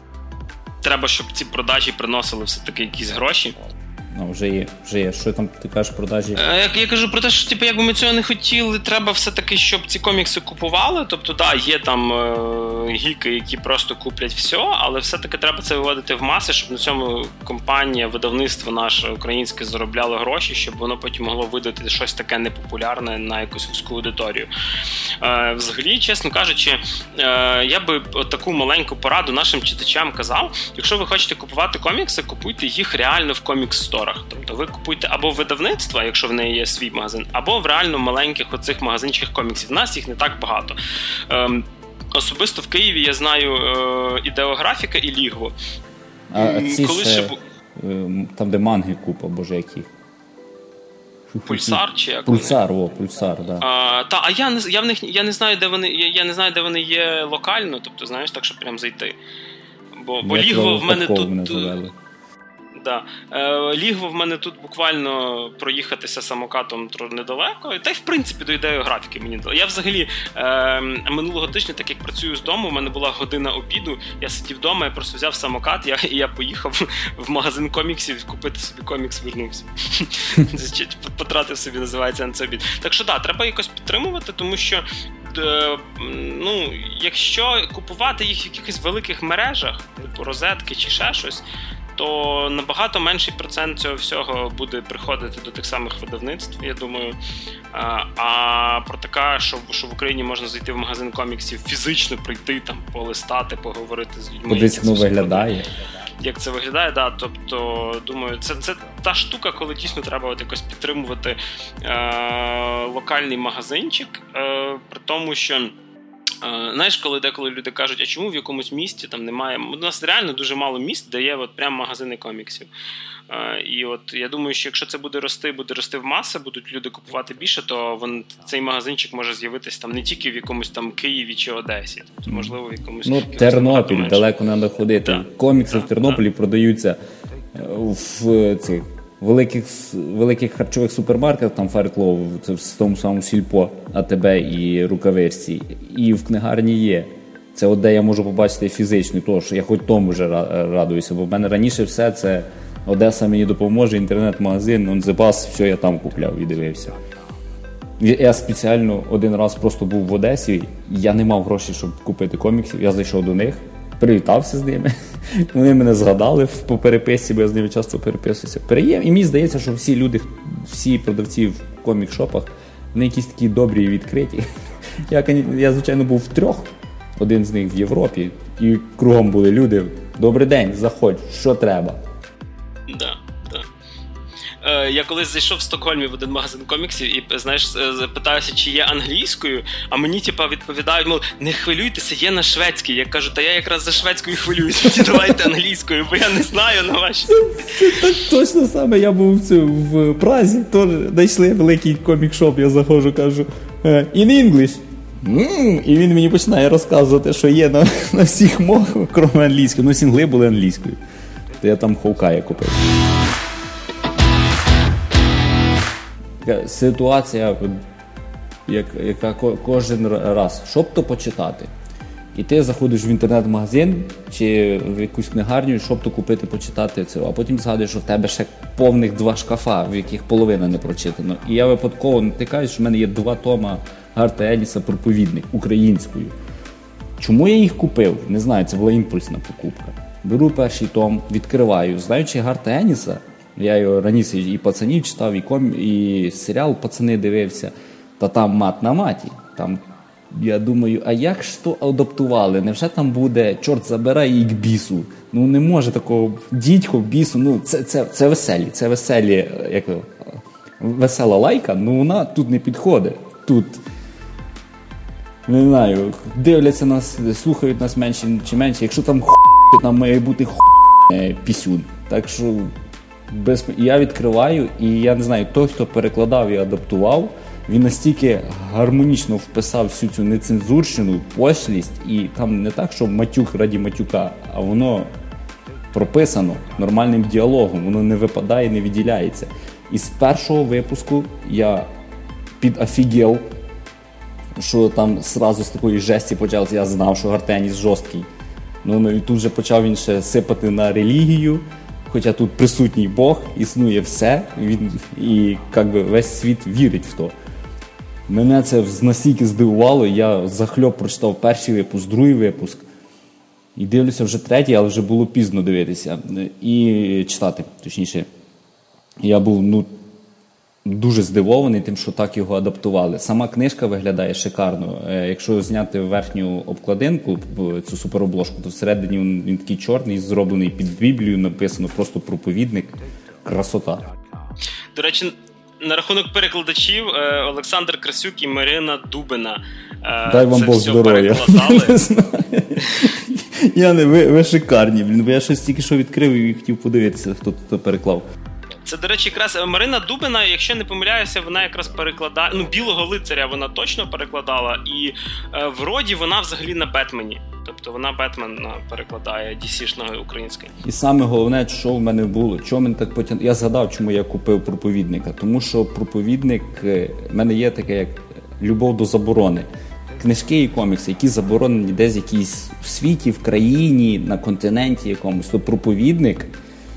треба, щоб ці продажі приносили все-таки якісь гроші. Ну, вже є, вже є. Що там ти кажеш продажі? Я, я кажу про те, що типу, якби ми цього не хотіли, треба все-таки, щоб ці комікси купували. Тобто, да, є там е- гіки, які просто куплять все, але все-таки треба це виводити в маси, щоб на цьому компанія, видавництво наше українське заробляло гроші, щоб воно потім могло видати щось таке непопулярне на якусь вузьку аудиторію. Е- взагалі, чесно кажучи, е- я би таку маленьку пораду нашим читачам казав, якщо ви хочете купувати комікси, купуйте їх реально в комікс-сторах. Тобто ви купуєте або видавництва, якщо в неї є свій магазин, або в реально маленьких оцих магазинчиках коміксів. В нас їх не так багато. Ем, особисто в Києві я знаю е, Ідеографіка і Лігво. А, а ці Коли ще, ще... там, де манги купа, боже, які? Пульсар чи як? Пульсар, о, Пульсар, да. А, та, а я не, я в них, я не знаю, де вони, я, я не знаю, де вони є локально, тобто, знаєш, так, щоб прям зайти. Бо, бо Лігво в мене тут... Мене Да. Е, Лігво в мене тут буквально проїхатися самокатом недалеко, та й в принципі до ідеографіки мені дало. Я взагалі е, минулого тижня, так як працюю з дому, у мене була година обіду, я сидів вдома, я просто взяв самокат, я, і я поїхав в магазин коміксів купити собі комікс, вернувся. Потратив собі, називається, на це обід. Так що да, треба якось підтримувати, тому що ну, якщо купувати їх в якихось великих мережах, типу розетки чи ще щось, то набагато менший процент цього всього буде приходити до тих самих видавництв, я думаю. А, а про таке, що, що в Україні можна зайти в магазин коміксів, фізично прийти, там, полистати, поговорити з людьми. Кудись воно виглядає. Як це виглядає, да, тобто, думаю, це, це та штука, коли дійсно треба от якось підтримувати е- локальний магазинчик, е- при тому, що Uh, знаєш, коли деколи люди кажуть, а чому в якомусь місті там немає... У нас реально дуже мало міст, де є от прям магазини коміксів. Uh, і от я думаю, що якщо це буде рости, буде рости в маси, будуть люди купувати більше, то він, цей магазинчик може з'явитись там не тільки в якомусь там Києві чи Одесі. Тобто, можливо, в якомусь... Ну, Тернопіль, далеко не треба ходити. Да. Комікси да, в Тернополі да. продаються в цих великих, великих харчових супермаркетах, там Файрклоу, це в тому самому Сільпо, АТБ і Рукавичці, і в книгарні є. Це от де я можу побачити фізично, тому що я хоч тому вже радуюся, бо в мене раніше все це Одеса мені допоможе, інтернет-магазин, он the bus, все я там купляв і дивився. Я спеціально один раз просто був в Одесі, я не мав грошей, щоб купити коміксів, я зайшов до них, привітався з ними. Вони мене згадали по переписці, бо я з ними часто переписуюся. Переєм. І мені здається, що всі люди, всі продавці в комік-шопах, вони якісь такі добрі і відкриті. Я, я, звичайно, був в трьох, один з них в Європі, і кругом були люди. Добрий день, заходь, що треба? Да. Я колись зайшов в Стокгольмі в один магазин коміксів і, знаєш, запитався, чи є англійською, а мені, типа, відповідають, мол, не хвилюйтеся, є на шведській. Я кажу, та я якраз за шведською хвилююся, давайте англійською, бо я не знаю на вашій. Так точно саме, я був в, в Празі, теж знайшли великий комік-шоп, я заходжу, кажу, in English. Mm, і він мені починає розказувати, що є на, на всіх мовах, крім англійської. Ну, сінгли були англійською. То я там Хоукая купив. Ситуація, як, яка кожен раз, що б то почитати. І ти заходиш в інтернет-магазин чи в якусь книгарню, щоб то купити, почитати це. А потім згадуєш, що в тебе ще повних два шкафа, в яких половина не прочитано. І я випадково натикаюсь, що в мене є два тома Гарта Еніса «Проповідник» українською. Чому я їх купив? Не знаю, це була імпульсна покупка. Беру перший том, відкриваю. Знаючи Гарта Еніса, я його раніше і пацанів читав, і, ком... і серіал «Пацани» дивився, та там мат на маті. Там, я думаю, а як ж то адаптували? Невже там буде «Чорт забирай» і к бісу? Ну не може такого дідько, бісу, ну це, це, це веселі, це веселі, як весела лайка, ну вона тут не підходить. Тут, не знаю, дивляться нас, слухають нас менше чи менше. Якщо там хуй, то там має бути хуй пісюн. Так що без... я відкриваю, і я не знаю, той, хто перекладав і адаптував, він настільки гармонічно вписав всю цю нецензурщину, пошлість, і там не так, що матюк раді матюка, а воно прописано нормальним діалогом, воно не випадає, не відділяється. І з першого випуску я підофігел, що там зразу з такої жесті почалося, я знав, що Гарта Еніс жорсткий. Ну, ну і тут же почав він ще сипати на релігію, хоча тут присутній Бог, існує все, він, і як би, весь світ вірить в то. Мене це настільки здивувало, я захльоп прочитав перший випуск, другий випуск, і дивлюся вже третій, але вже було пізно дивитися, і читати, точніше. Я був, ну, дуже здивований тим, що так його адаптували. Сама книжка виглядає шикарно. Якщо зняти верхню обкладинку, цю суперобложку, то всередині він, він такий чорний, зроблений під Біблію, написано просто «Проповідник». Красота. До речі, на рахунок перекладачів, Олександр Красюк і Марина Дубина. Дай вам це Бог все здоров'я. перекладали. Я не, ви, ви шикарні, блін, бо я щось тільки що відкрив і хотів подивитися, хто тут переклав. Це, до речі, якраз Марина Дубина, якщо не помиляюся, вона якраз перекладає, ну, «Білого лицаря» вона точно перекладала, і е, в роді вона взагалі на Бетмені. Тобто вона Бетмена перекладає ді сі-шного українською. І саме головне, що в мене було, чого мене так потяг... Я згадав, чому я купив «Проповідника». Тому що «Проповідник», в мене є таке, як любов до заборони. Книжки і комікси, які заборонені десь в якійсь в світі, в країні, на континенті якомусь. То «Проповідник»,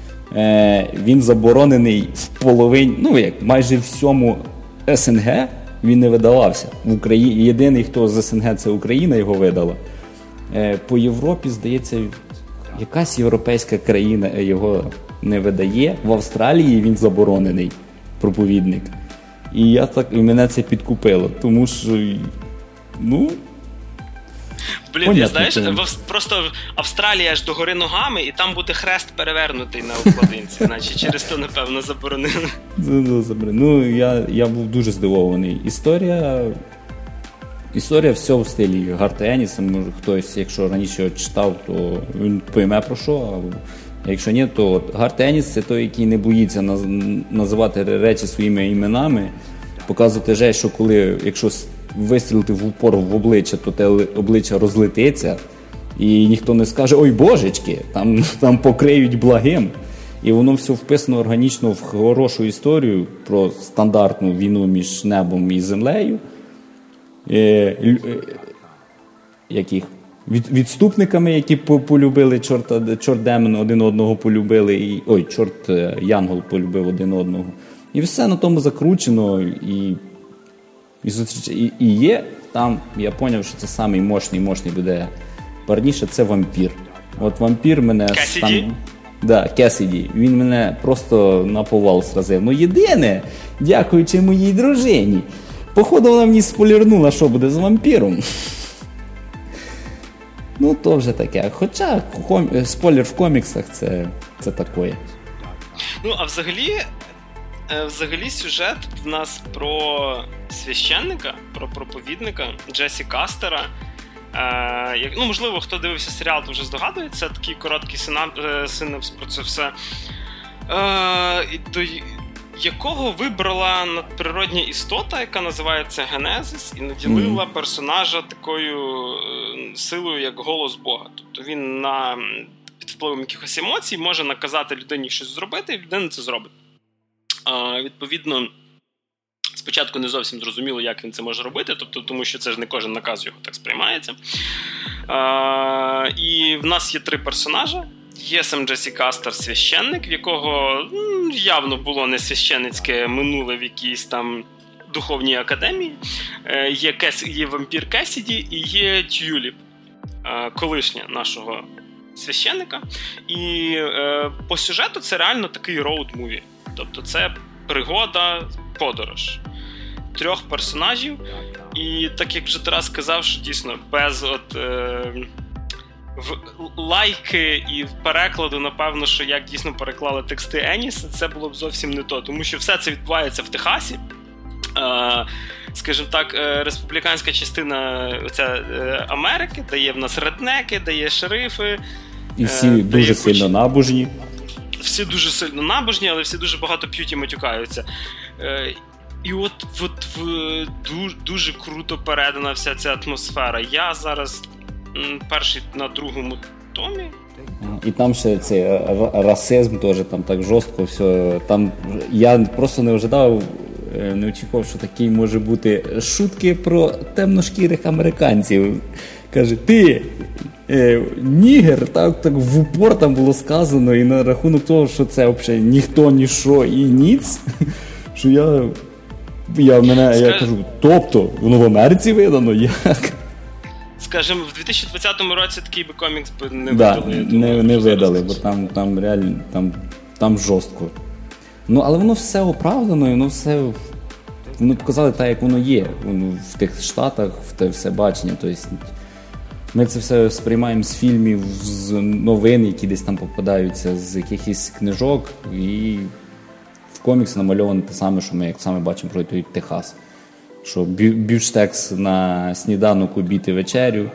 він заборонений в половині, ну як, майже всьому ес ен ге він не видавався. В Україні єдиний, хто з ес ен ге, це Україна його видала. По Європі, здається, якась європейська країна його не видає. В Австралії він заборонений, «Проповідник». І я так, і мене це підкупило, тому що, ну... Блін, понятно, я знаєш, понятно. просто Австралія аж догори ногами, і там буде хрест перевернутий на обкладинці. Значить, через то, напевно, заборонили. Ну, я, я був дуже здивований. Історія... Історія все в стилі Гарта Еніса. Може, хтось, якщо раніше його читав, то він пойме про що. А якщо ні, то Гарт Еніс – це той, який не боїться називати речі своїми іменами, показувати же, що коли, якщо вистрілити в упор в обличчя, то те обличчя розлетиться, і ніхто не скаже «Ой, божечки!», там, там покриють благим. І воно все вписано органічно в хорошу історію про стандартну війну між небом і землею. Е, яких? Від, відступниками, які полюбили чорта, чорт демон один одного полюбили, і, ой, чорт Янгол полюбив один одного. І все на тому закручено, і, і, і, і є там, я зрозумів, що це самий мощний, мощний буде парніше, це вампір. От вампір мене... Кесіді? Там, да, Кесіді. Він мене просто на повал сразив. Ну єдине, дякуючи моїй дружині, походу вона мені спойлернула, що буде з вампіром. Ну, то вже таке. Хоча ком... спойлер в коміксах це, це таке. Ну, а взагалі, взагалі сюжет в нас про священника, про проповідника Джесі Кастера. Е, як, ну, можливо, хто дивився серіал, то вже здогадується, такий короткий синапс про це все. Е, до якого вибрала надприродня істота, яка називається Генезис, і наділила mm-hmm. персонажа такою е, силою, як голос Бога. Тобто він на, під впливом якихось емоцій може наказати людині щось зробити, і людина це зробить. Е, відповідно, Спочатку не зовсім зрозуміло, як він це може робити, тобто, тому що це ж не кожен наказ його так сприймається. А, і в нас є три персонажа. Є сам Джесі Кастер, священник, в якого м, явно було не священницьке минуле в якійсь там духовній академії. Е, є, Кес, є вампір Кесіді і є Тюліп, е, колишня нашого священника. І е, по сюжету це реально такий роуд-муві. Тобто це пригода, подорож трьох персонажів. І так як вже Тарас сказав, що дійсно без от, е, в лайки і перекладу, напевно, що як дійсно переклали тексти Еніса, це було б зовсім не то. Тому що все це відбувається в Техасі. Е, скажімо так, е, республіканська частина оця, е, Америки, де є в нас реднеки, де є шерифи. І всі е, дуже сильно куч... набожні. Всі дуже сильно набожні, але всі дуже багато п'ють і матюкаються. Е, і от, от в, дуже, дуже круто передана вся ця атмосфера. Я зараз м, перший на другому томі. І там ще цей расизм теж там так жорстко все. Там я просто не ожидав, не очікував, що такий може бути шутки про темношкірих американців. Каже, ти е, нігер, так, так в упор там було сказано, і на рахунок того, що це взагалі ніхто, ніщо і ніц, що я, я, мене, Скаж... я кажу, тобто, воно в Америці видано, як? Скажімо, в дві тисячі двадцятому році такий би комікс би не да, видали. Не, думаю, не видали, бо там, там реально, там, там жорстко. Ну, але воно все оправдано, і воно все, воно показали так, як воно є. Воно в тих Штатах, в те все бачення, тобто ми це все сприймаємо з фільмів, з новин, які десь там попадаються, з якихось книжок, і в коміксі намальовано те саме, що ми як саме бачимо про той Техас. Що бюштекс на сніданок, обід і вечерю,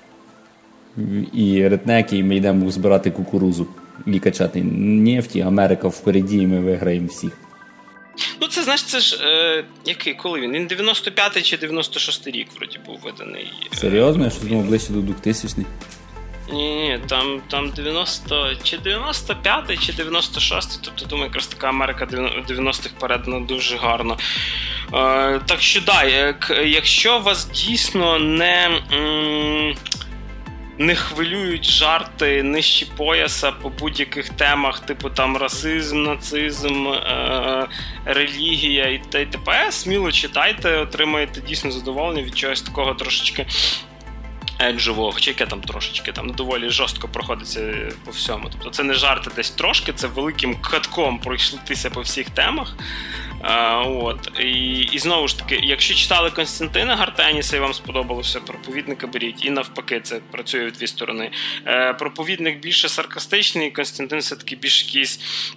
і реднеки, і ми йдемо збирати кукурузу і качати нефті, Америка впереді, і ми виграємо всіх. Ну, це, знаєш, це ж, е, який, коли він? Він дев'яносто п'ятий чи дев'яносто шостий рік, вроді, був виданий. Серйозно? Я щось думав, ближче до двохтисячних. Ні-ні, там, там дев'яносто, чи дев'яносто п'ятий, чи дев'яносто шостий, тобто, думаю, якраз така Америка дев'яностих передана дуже гарно. Е, так що, да, як, якщо вас дійсно не... М- не хвилюють жарти нижче пояса по будь-яких темах, типу там расизм, нацизм, е- релігія і т.д. Сміло читайте, отримаєте дійсно задоволення від чогось такого трошечки еджового, хоча яке там трошечки, там доволі жорстко проходиться по всьому. Тобто це не жарти десь трошки, це великим катком пройшлитися по всіх темах. А, от. І, і знову ж таки, якщо читали Константина Гартеніса і вам сподобалося, проповідника беріть. І навпаки, це працює в дві сторони. Е, проповідник більше саркастичний, Константин все-таки більш якийсь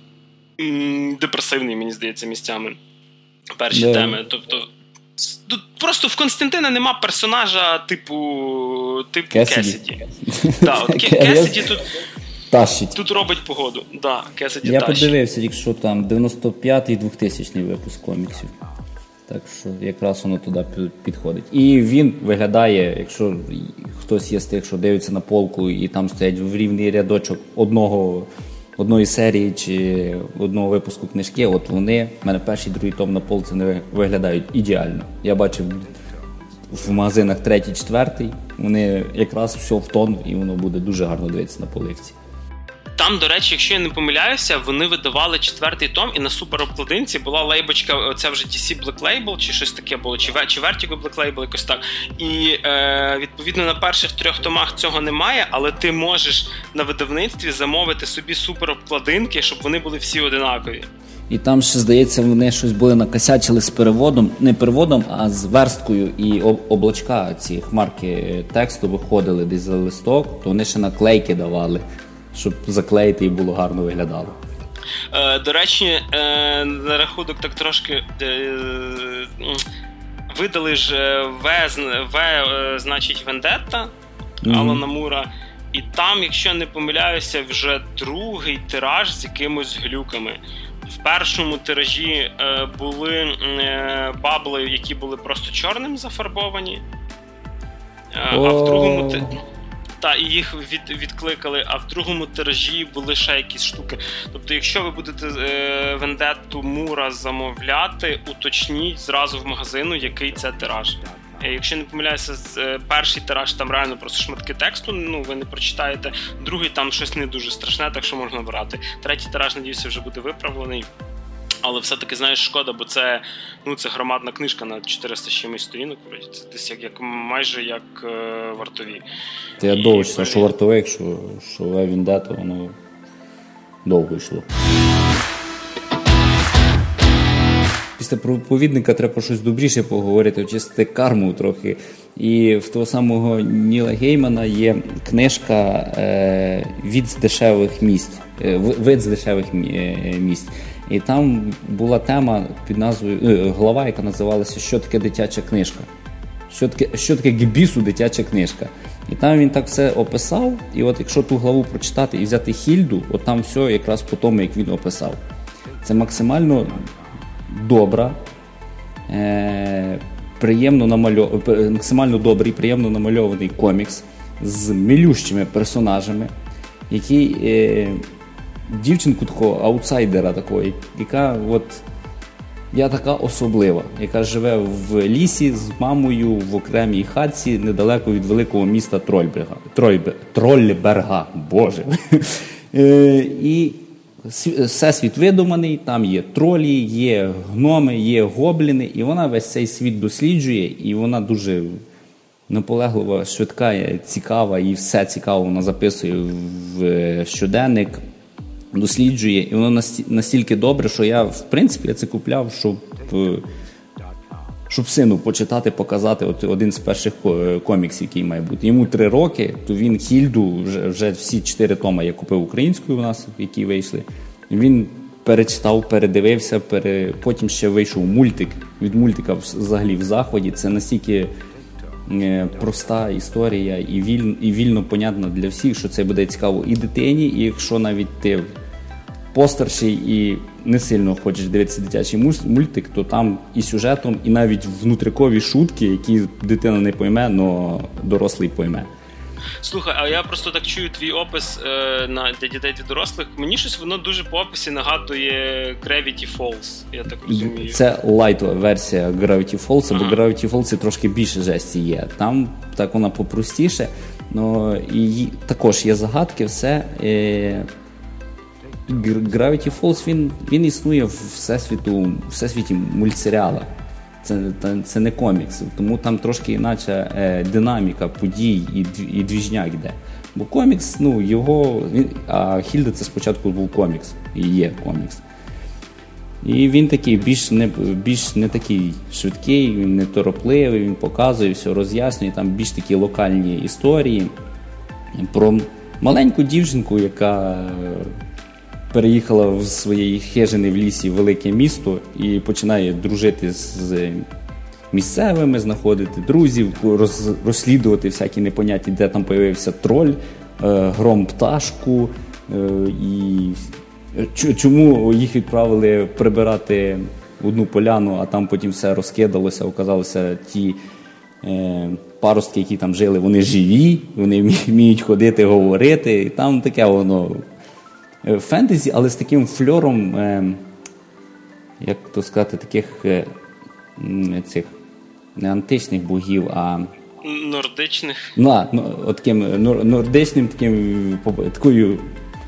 м- депресивний, мені здається, місцями. Перші yeah. теми. Тобто, тут просто в Константина нема персонажа типу, типу Кесіді. Так, Кесіді тут... Тащить. Тут робить погоду. Да, Кесіді Я тащить. подивився, якщо там дев'яносто п'ятий двохтисячний випуск коміксів. Так що якраз воно туди підходить. І він виглядає, якщо хтось є з тих, що дивиться на полку і там стоять в рівний рядочок одного, одної серії чи одного випуску книжки, от вони, в мене перший, другий том на полці не виглядають ідеально. Я бачив в магазинах третій, четвертий, вони якраз все в тон, і воно буде дуже гарно дивитися на поличці. Там, до речі, якщо я не помиляюся, вони видавали четвертий том, і на суперобкладинці була лейбочка, оця вже ді сі Black Label, чи щось таке було, чи, чи Vertigo Black Label, якось так. І, е, відповідно, на перших трьох томах цього немає, але ти можеш на видавництві замовити собі суперобкладинки, щоб вони були всі одинакові. І там ще, здається, вони щось були накосячили з переводом, не переводом, а з версткою і облачка, ці хмарки тексту виходили десь за листок, то вони ще наклейки давали, щоб заклеїти і було гарно виглядало. Е, до речі, е, на рахунок так трошки е, видали ж В, В е, значить, Вендетта mm-hmm. Алана Мура, і там, якщо не помиляюся, вже другий тираж з якимось глюками. В першому тиражі е, були е, бабли, які були просто чорним зафарбовані, е, а в другому ти... Та, і їх від, відкликали, а в другому тиражі були ще якісь штуки. Тобто, якщо ви будете е, Вендетту Мура замовляти, уточніть зразу в магазину, який це тираж. Якщо не помиляюся, перший тираж там реально просто шматки тексту, ну ви не прочитаєте, другий там щось не дуже страшне, так що можна брати. Третій тираж, надіюся, вже буде виправлений. Але все-таки, знаєш, шкода, бо це, ну, це громадна книжка на чотириста з чимось сторінок, це десь як, як майже як е, вартові. Та я довго читав, що вартове, якщо що Вендетта, воно довго йшло. Після проповідника треба щось добріше поговорити, очистити карму трохи. І в того самого Ніла Геймана є книжка е, «Від з дешевих місць», е, «Вид з дешевих місць». І там була тема під назвою, е, глава, яка називалася «Що таке дитяча книжка?». Що таке, що таке к бісу дитяча книжка? І там він так все описав, і от якщо ту главу прочитати і взяти Хільду, от там все якраз по тому, як він описав. Це максимально добра, е, приємно намальов... максимально добрий, приємно намальований комікс з милющими персонажами, який е, дівчинку такого аутсайдера такої, яка от я така особлива, яка живе в лісі з мамою в окремій хатці недалеко від великого міста Трольберга. Трольбер... Трольберга, боже. е, і всесвіт видуманий, там є тролі, є гноми, є гобліни, і вона весь цей світ досліджує, і вона дуже наполеглива, швидка, цікава, і все цікаво вона записує в щоденник, досліджує, і воно настільки добре, що я, в принципі, я це купляв, щоб, щоб сину почитати, показати от один з перших коміксів, який має бути. Йому три роки, то він Хільду, вже, вже всі чотири тома я купив українською у нас, які вийшли. Він перечитав, передивився, пере... потім ще вийшов мультик. Від мультика взагалі в захваті. Це настільки проста історія і вільно, і вільно понятно для всіх, що це буде цікаво і дитині, і якщо навіть ти постарший і не сильно хочеш дивитися дитячий мультик, то там і сюжетом, і навіть внутрикові шутки, які дитина не пойме, але дорослий пойме. Слухай, а я просто так чую твій опис е, на, для дітей та дорослих. Мені щось воно дуже по описі нагадує Gravity Falls, я так розумію. Це лайтова версія Gravity Falls, ага. Бо Gravity Falls трошки більше жесті є. Там так вона попростіше, но і також є загадки, все. Е, Gravity Falls, він, він існує в всесвіту, всесвіті мультсеріала. Це, це не комікс, тому там трошки іначе е, динаміка подій і, і двіжняк йде. Бо комікс, ну, його... Він, а Хільда це спочатку був комікс, і є комікс. І він такий більш не, більш не такий швидкий, він не торопливий, він показує, все роз'яснює, там більш такі локальні історії про маленьку дівчинку, яка переїхала в своєї хижини в лісі в велике місто і починає дружити з місцевими, знаходити друзів, роз, розслідувати всякі непонятні, де там появився троль, е, гром пташку, е, і чому їх відправили прибирати одну поляну, а там потім все розкидалося, оказалося ті е, паростки, які там жили, вони живі, вони вміють ходити, говорити, і там таке воно фентезі, але з таким фльором, е, як то сказати, таких е, цих не античних богів, а нордичних. Ну, ну, от таким нордичним, таким такою.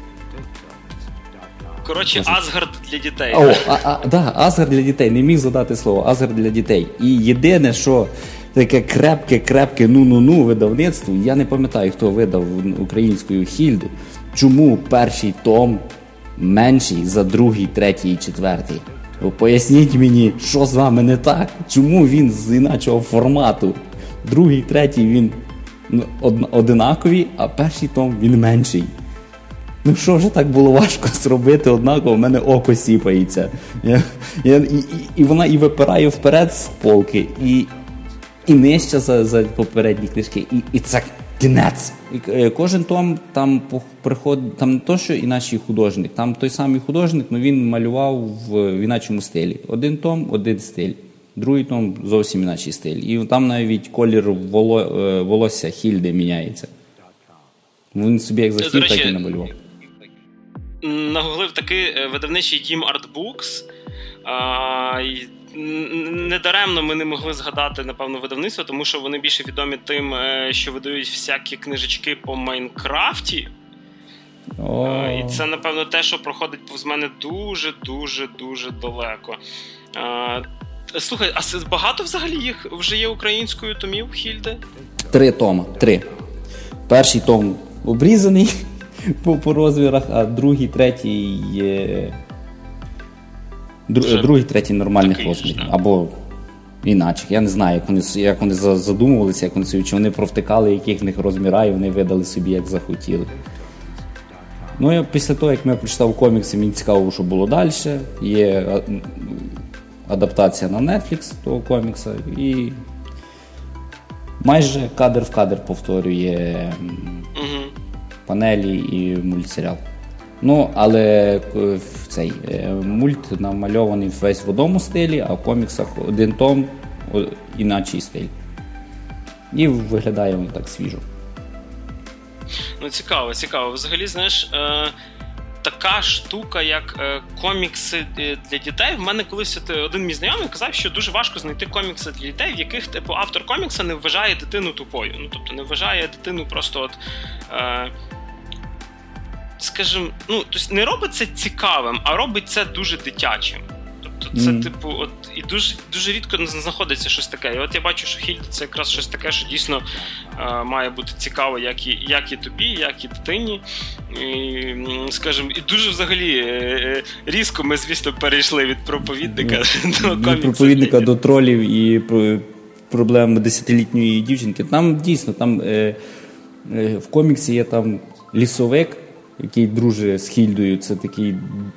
Коротше, Асгард для дітей. О, а, а, да, Асгард для дітей. Не міг задати слово. Асгард для дітей. І єдине, що таке крепке-крепке ну-ну-ну видавництво, я не пам'ятаю, хто видав українською Хільду, чому перший том менший за другий, третій і четвертий? Поясніть мені, що з вами не так? Чому він з іначого формату? Другий, третій він одинакові, а перший том він менший. Ну що вже так було важко зробити однаково, в мене око сіпається. Я, я, і, і вона і випирає вперед з полки, і, і нижче за, за попередні книжки, і, і це кінець. І кожен том там приходить, там не то, що іначий художник, там той самий художник, але він малював в іначому стилі. Один том, один стиль, другий том зовсім іначий стиль. І там навіть колір воло, волосся Хільди міняється. Він собі як захотів, так і намалював. Нагуглив такий видавничий дім Artbooks. А, недаремно ми не могли згадати, напевно, видавництво, тому що вони більше відомі тим, що видають всякі книжечки по Майнкрафті. Oh. І це, напевно, те, що проходить повз мене дуже-дуже-дуже далеко. А, слухай, а багато взагалі їх вже є українською томів Хільди? Три тома, три. Перший том обрізаний по, по розмірах, а другий, третій є... Дру... другий, третій нормальних розмірів. Або іначе. Я не знаю, як вони, як вони задумувалися, як вони собі, чи вони провтикали, яких в них розміра, і вони видали собі, як захотіли. Ну, я після того, як я прочитав комікси, мені цікаво, що було далі. Є адаптація на Netflix того комікса, і майже кадр в кадр повторює угу. панелі і мультсеріал. Ну, але в цей мульт намальований весь в одному стилі, а в коміксах один том, іначий стиль. І виглядає воно так свіжо. Ну, цікаво, цікаво. Взагалі, знаєш, е, така штука, як е, комікси для дітей. В мене колись один мій знайомий казав, що дуже важко знайти комікси для дітей, в яких типу автор комікса не вважає дитину тупою. Ну, тобто не вважає дитину просто от... Е, скажімо, ну, тобто не робить це цікавим, а робить це дуже дитячим. Тобто це, mm. типу, от, і дуже, дуже рідко знаходиться щось таке. І от я бачу, що Хільда це якраз щось таке, що дійсно е, має бути цікаво як і, як і тобі, як і дитині. І, скажімо, і дуже взагалі е, різко ми, звісно, перейшли від проповідника mm. до коміксу. Від проповідника до тролів і про проблем десятилітньої дівчинки. Там дійсно, там е, е, в коміксі є там лісовик, який дружить з Хільдою. Це такий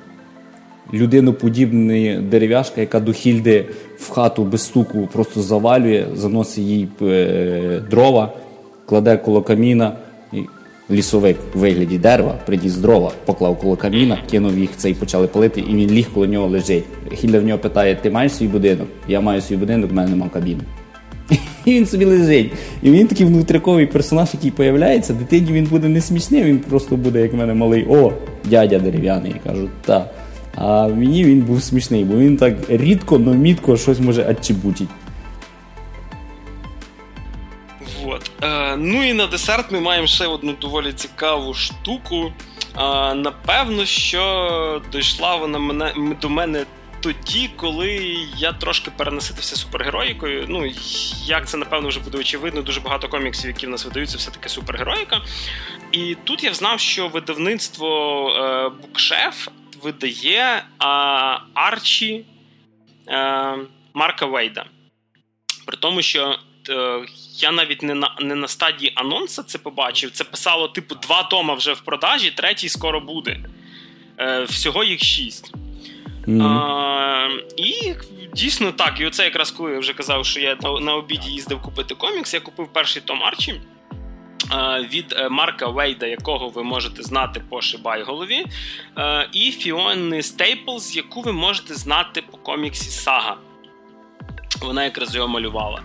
людиноподібний дерев'яшка, яка до Хільди в хату без стуку просто завалює, заносить їй е, дрова, кладе коло каміна. І лісовик в вигляді дерева приніс дрова, поклав коло каміна, кинув їх це і почали палити, і він ліг коло нього лежить. Хільда в нього питає: ти маєш свій будинок? Я маю свій будинок, в мене нема кабіни. І він собі лежить. І він такий внутріковий персонаж, який появляється. Дитині він буде не смішний, він просто буде, як в мене малий: о, дядя дерев'яний. Я кажу, так. А мені він був смішний, бо він так рідко, но мітко щось може отчебутить. Вот. Е, ну і на десерт ми маємо ще одну доволі цікаву штуку. Е, напевно, що дійшла вона мене, до мене тоді, коли я трошки перенаситився супергероїкою. Ну, як це, напевно, вже буде очевидно, дуже багато коміксів, які в нас видаються, все-таки супергероїка. І тут я взнав, що видавництво е, Букшеф видає а, Арчі а, Марка Вейда. При тому, що е, я навіть не на, не на стадії анонсу це побачив. Це писало, типу, два тома вже в продажі, третій скоро буде. Е, всього їх шість. Mm-hmm. А, і дійсно так, і оце якраз коли я вже казав, що я на, на обіді їздив купити комікс, я купив перший том Арчі від Марка Вейда, якого ви можете знати по Шибайголові, і Фіони Стейплз, яку ви можете знати по коміксі Сага. Вона якраз його малювала.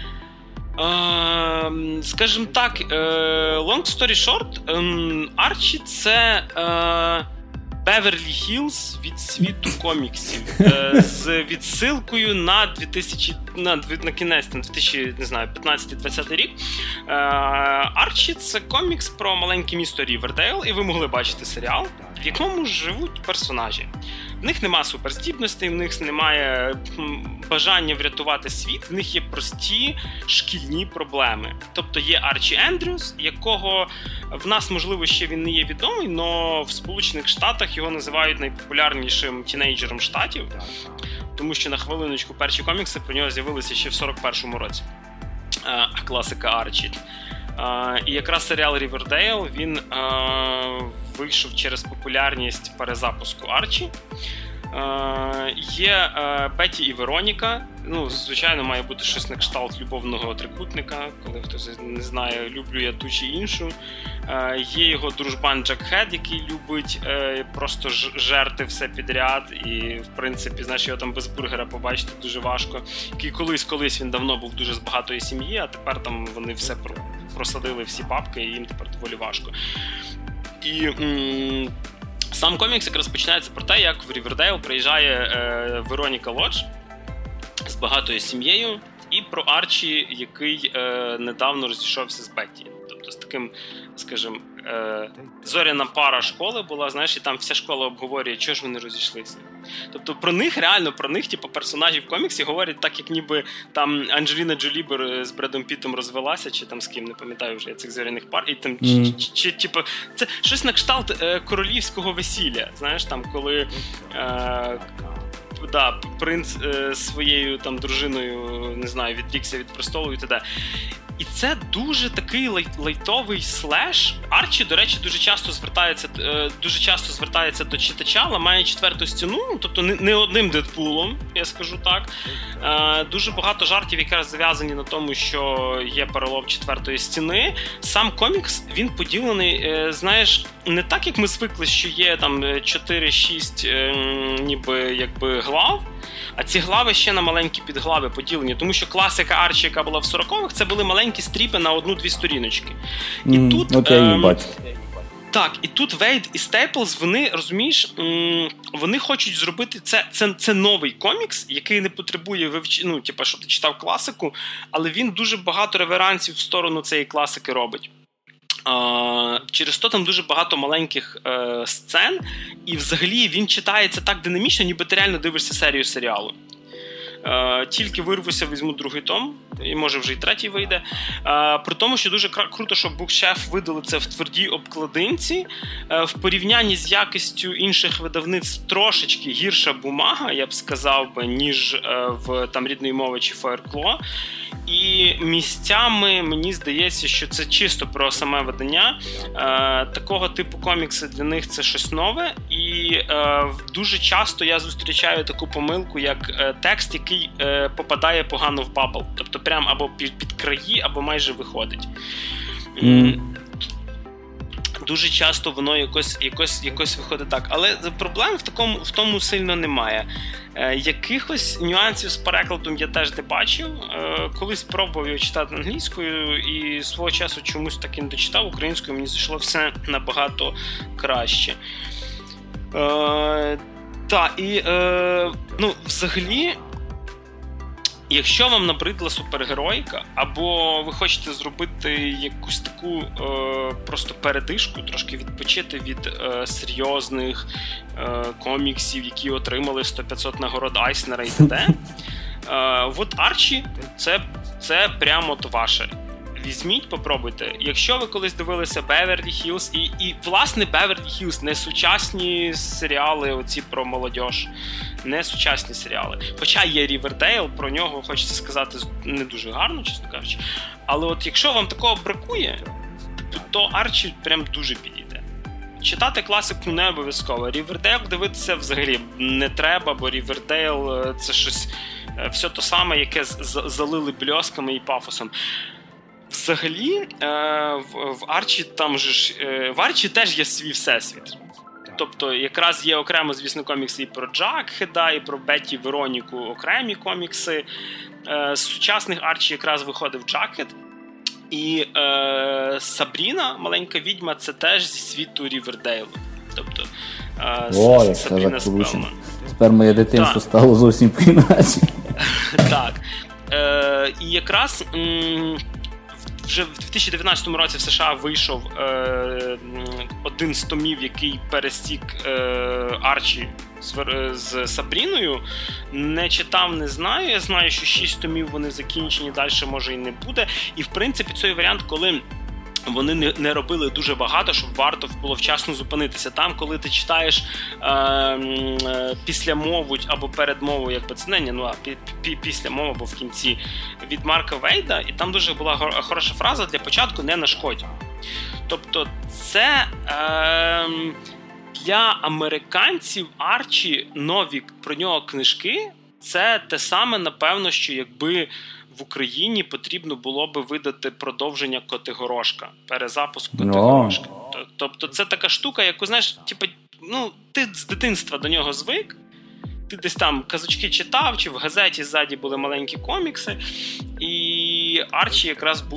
Скажімо так, long story short, Арчі – це Беверлі Хіллз від світу коміксів, з відсилкою на дві тисячі, на, на кінець, на дві тисячі п'ятнадцятий-двадцятий рік. Арчі – це комікс про маленьке місто Рівердейл, і ви могли бачити серіал, в якому живуть персонажі. В них нема суперздібностей, в них немає бажання врятувати світ, в них є прості шкільні проблеми. Тобто є Арчі Ендрюс, якого в нас, можливо, ще він не є відомий, але в Сполучених Штатах його називають найпопулярнішим тінейджером штатів, тому що, на хвилиночку, перші комікси про нього з'явилися ще в сорок першому році. Класика Арчі. Uh, і якраз серіал Рівердейл, він uh, вийшов через популярність перезапуску Арчі. Uh, є uh, Бетті і Вероніка. Ну, звичайно, має бути щось на кшталт любовного трикутника, коли хтось не знає, люблю я ту чи іншу. Uh, є його дружбан Джакхед, який любить uh, просто ж- жерти все підряд. І, в принципі, знаєш, його там без бургера побачити дуже важко. Який колись-колись він давно був дуже з багатої сім'ї, а тепер там вони все про... просадили всі бабки, і їм тепер доволі важко. І м- сам комікс якраз починається про те, як в Рівердейл приїжджає е- Вероніка Лодж з багатою сім'єю, і про Арчі, який е- недавно розійшовся з Бетті. Тобто з таким, скажімо, е- зоряна пара школи була, знаєш, і там вся школа обговорює, чого ж вони розійшлися. Тобто про них, реально, про них, типу, персонажів в коміксі говорять так, як ніби там Анджеліна Джолі з Бредом Піттом розвелася, чи там з ким, не пам'ятаю вже цих зоряних пар, і там, mm. чи, чи, чи, типу, це щось на кшталт е, королівського весілля, знаєш, там, коли е, да, принц е, своєю там дружиною, не знаю, відрікся від престолу і т.д. І це дуже такий лай, лайтовий слеш. Арчі, до речі, дуже часто звертається, дуже часто звертається до читача, ламає четверту стіну, тобто не, не одним Дедпулом, я скажу так. Дуже багато жартів якраз зав'язані на тому, що є перелом четвертої стіни. Сам комікс, він поділений, знаєш, не так, як ми звикли, що є там чотири-шість ніби якби глав, а ці глави ще на маленькі підглави поділені, тому що класика Арчі, яка була в сорокових, це були маленькі стріпи на одну-дві сторіночки. І mm, тут, от я її бачу. Так, і тут Вейд і Стейплз, вони, розумієш, вони хочуть зробити, це, це, це новий комікс, який не потребує вивч... ну, типу, щоб ти читав класику, але він дуже багато реверансів в сторону цієї класики робить. Uh, через то там дуже багато маленьких uh, сцен, і взагалі він читається так динамічно, ніби ти реально дивишся серію серіалу. Uh, тільки вирвуся, візьму другий том, і може вже і третій вийде. Uh, при тому, що дуже кр- круто, що Bookshelf видали це в твердій обкладинці. Uh, в порівнянні з якістю інших видавництв трошечки гірша бумага, я б сказав би, ніж uh, в там рідної мови чи Fireclaw. І місцями мені здається, що це чисто про саме видання. Е, такого типу комікси для них це щось нове. І е, дуже часто я зустрічаю таку помилку, як е, текст, який е, попадає погано в бабл. Тобто прям або під, під краї, або майже виходить. Mm. Дуже часто воно якось, якось, якось виходить так. Але проблем в, такому, в тому сильно немає. Е, якихось нюансів з перекладом я теж не бачив. Е, колись пробував його читати англійською і свого часу чомусь так і не дочитав. Українською мені зайшло все набагато краще. Е, та, і, е, ну, взагалі, якщо вам набридла супергеройка, або ви хочете зробити якусь таку е, просто передишку, трошки відпочити від е, серйозних е, коміксів, які отримали сто-п'ятсот нагород Айснера і т.д. Е, от Арчі це, це прямо от ваше. Візьміть, попробуйте. Якщо ви колись дивилися Беверлі Хіллз, і, і власне Беверлі Хіллз, не сучасні серіали оці про молодіж, не сучасні серіали. Хоча є Рівердейл, про нього хочеться сказати не дуже гарно, чесно кажучи. Але от якщо вам такого бракує, то Арчі прям дуже підійде. Читати класику не обов'язково. Рівердейл дивитися взагалі не треба, бо Рівердейл це щось все то саме, яке залили бльосками і пафосом. Взагалі, е, в, в Арчі там же ж, е, в Арчі теж є свій всесвіт. Тобто, якраз є окремо, звісно, комікси і про Джакхеда, і про Бетті Вероніку окремі комікси. Е, з сучасних Арчі якраз виходив Джакхед. І е, Сабріна, маленька відьма, це теж зі світу Рівердейлу. Тобто, е, О, С- Сабріна Спелман. Тепер моє дитинство так. стало зовсім по-іначе. Так. Е, і якраз... М- Вже в дві тисячі дев'ятнадцятому році в США вийшов е, один з томів, який пересік е, Арчі з, з Сабріною. Не читав, не знаю. Я знаю, що шість томів вони закінчені, далі може і не буде. І в принципі цей варіант, коли вони не, не робили дуже багато, щоб варто було вчасно зупинитися. Там, коли ти читаєш е, е, післямову або передмову, як би це не, ну, а пі, пі, післямову або в кінці від Марка Вейда, і там дуже була хороша фраза для початку «не нашкодь». Тобто це е, для американців Арчі нові про нього книжки, це те саме, напевно, що якби в Україні потрібно було би видати продовження Котигорошка, перезапуск Котигорошка. No. Тобто це така штука, яку, знаєш, типу, ну, ти з дитинства до нього звик, ти десь там казочки читав, чи в газеті ззаді були маленькі комікси, і Арчі якраз був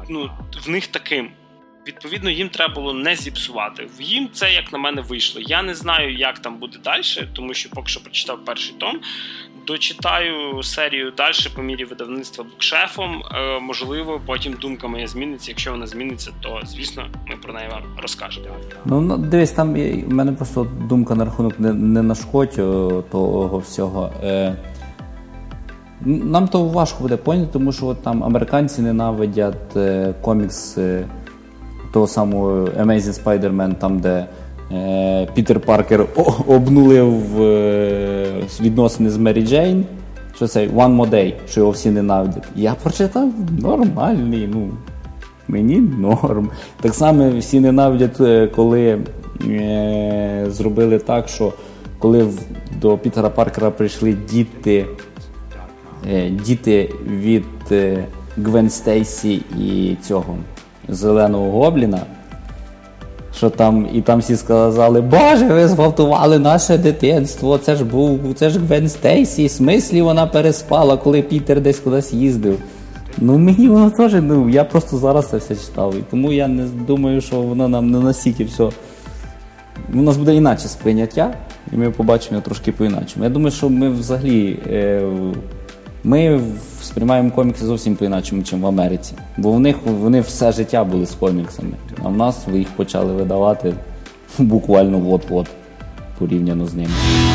ну, в них таким. Відповідно, їм треба було не зіпсувати. Їм це, як на мене, вийшло. Я не знаю, як там буде далі, тому що поки що прочитав перший том. Дочитаю серію далі по мірі видавництва букшефом. Е, можливо, потім думка моя зміниться. Якщо вона зміниться, то, звісно, ми про неї вам розкажемо. Ну, дивись, там в мене просто думка на рахунок не, не нашкодь того всього. Е, нам то важко буде поняти, тому що от там американці ненавидять е, комікс е, того самого Amazing Spider-Man, там, де е, Пітер Паркер обнулив е, відносини з Мері Джейн, що це One More Day, що його всі ненавидять. Я прочитав, нормальний, ну, мені норм. Так само всі ненавидять, коли е, зробили так, що коли в, до Пітера Паркера прийшли діти, е, діти від е, Гвен Стейсі і цього Зеленого Гобліна, що там, і там всі сказали: Боже, ви зґвалтували наше дитинство, це ж був, це ж Гвен Стейсі, в смислі вона переспала, коли Пітер десь кудись їздив. Ну мені воно теж, ну я просто зараз це все читав, і тому я не думаю, що воно нам не настільки все, у нас буде інакше сприйняття, і ми побачимо його трошки по-іначому. Я думаю, що ми взагалі, е, ми сприймаємо комікси зовсім по-іначому, ніж в Америці. Бо в них, вони все життя були з коміксами. А в нас їх почали видавати буквально от-от, порівняно з ними.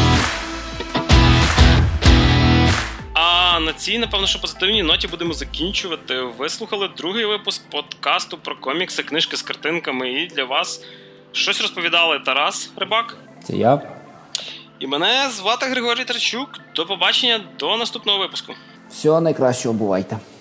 А на цій, напевно, що позитивній ноті будемо закінчувати. Ви слухали другий випуск подкасту про комікси, книжки з картинками. І для вас щось розповідали Тарас Рибак. Це я. І мене звати Григорій Тарчук. До побачення, до наступного випуску. Всього найкращого, бувайте.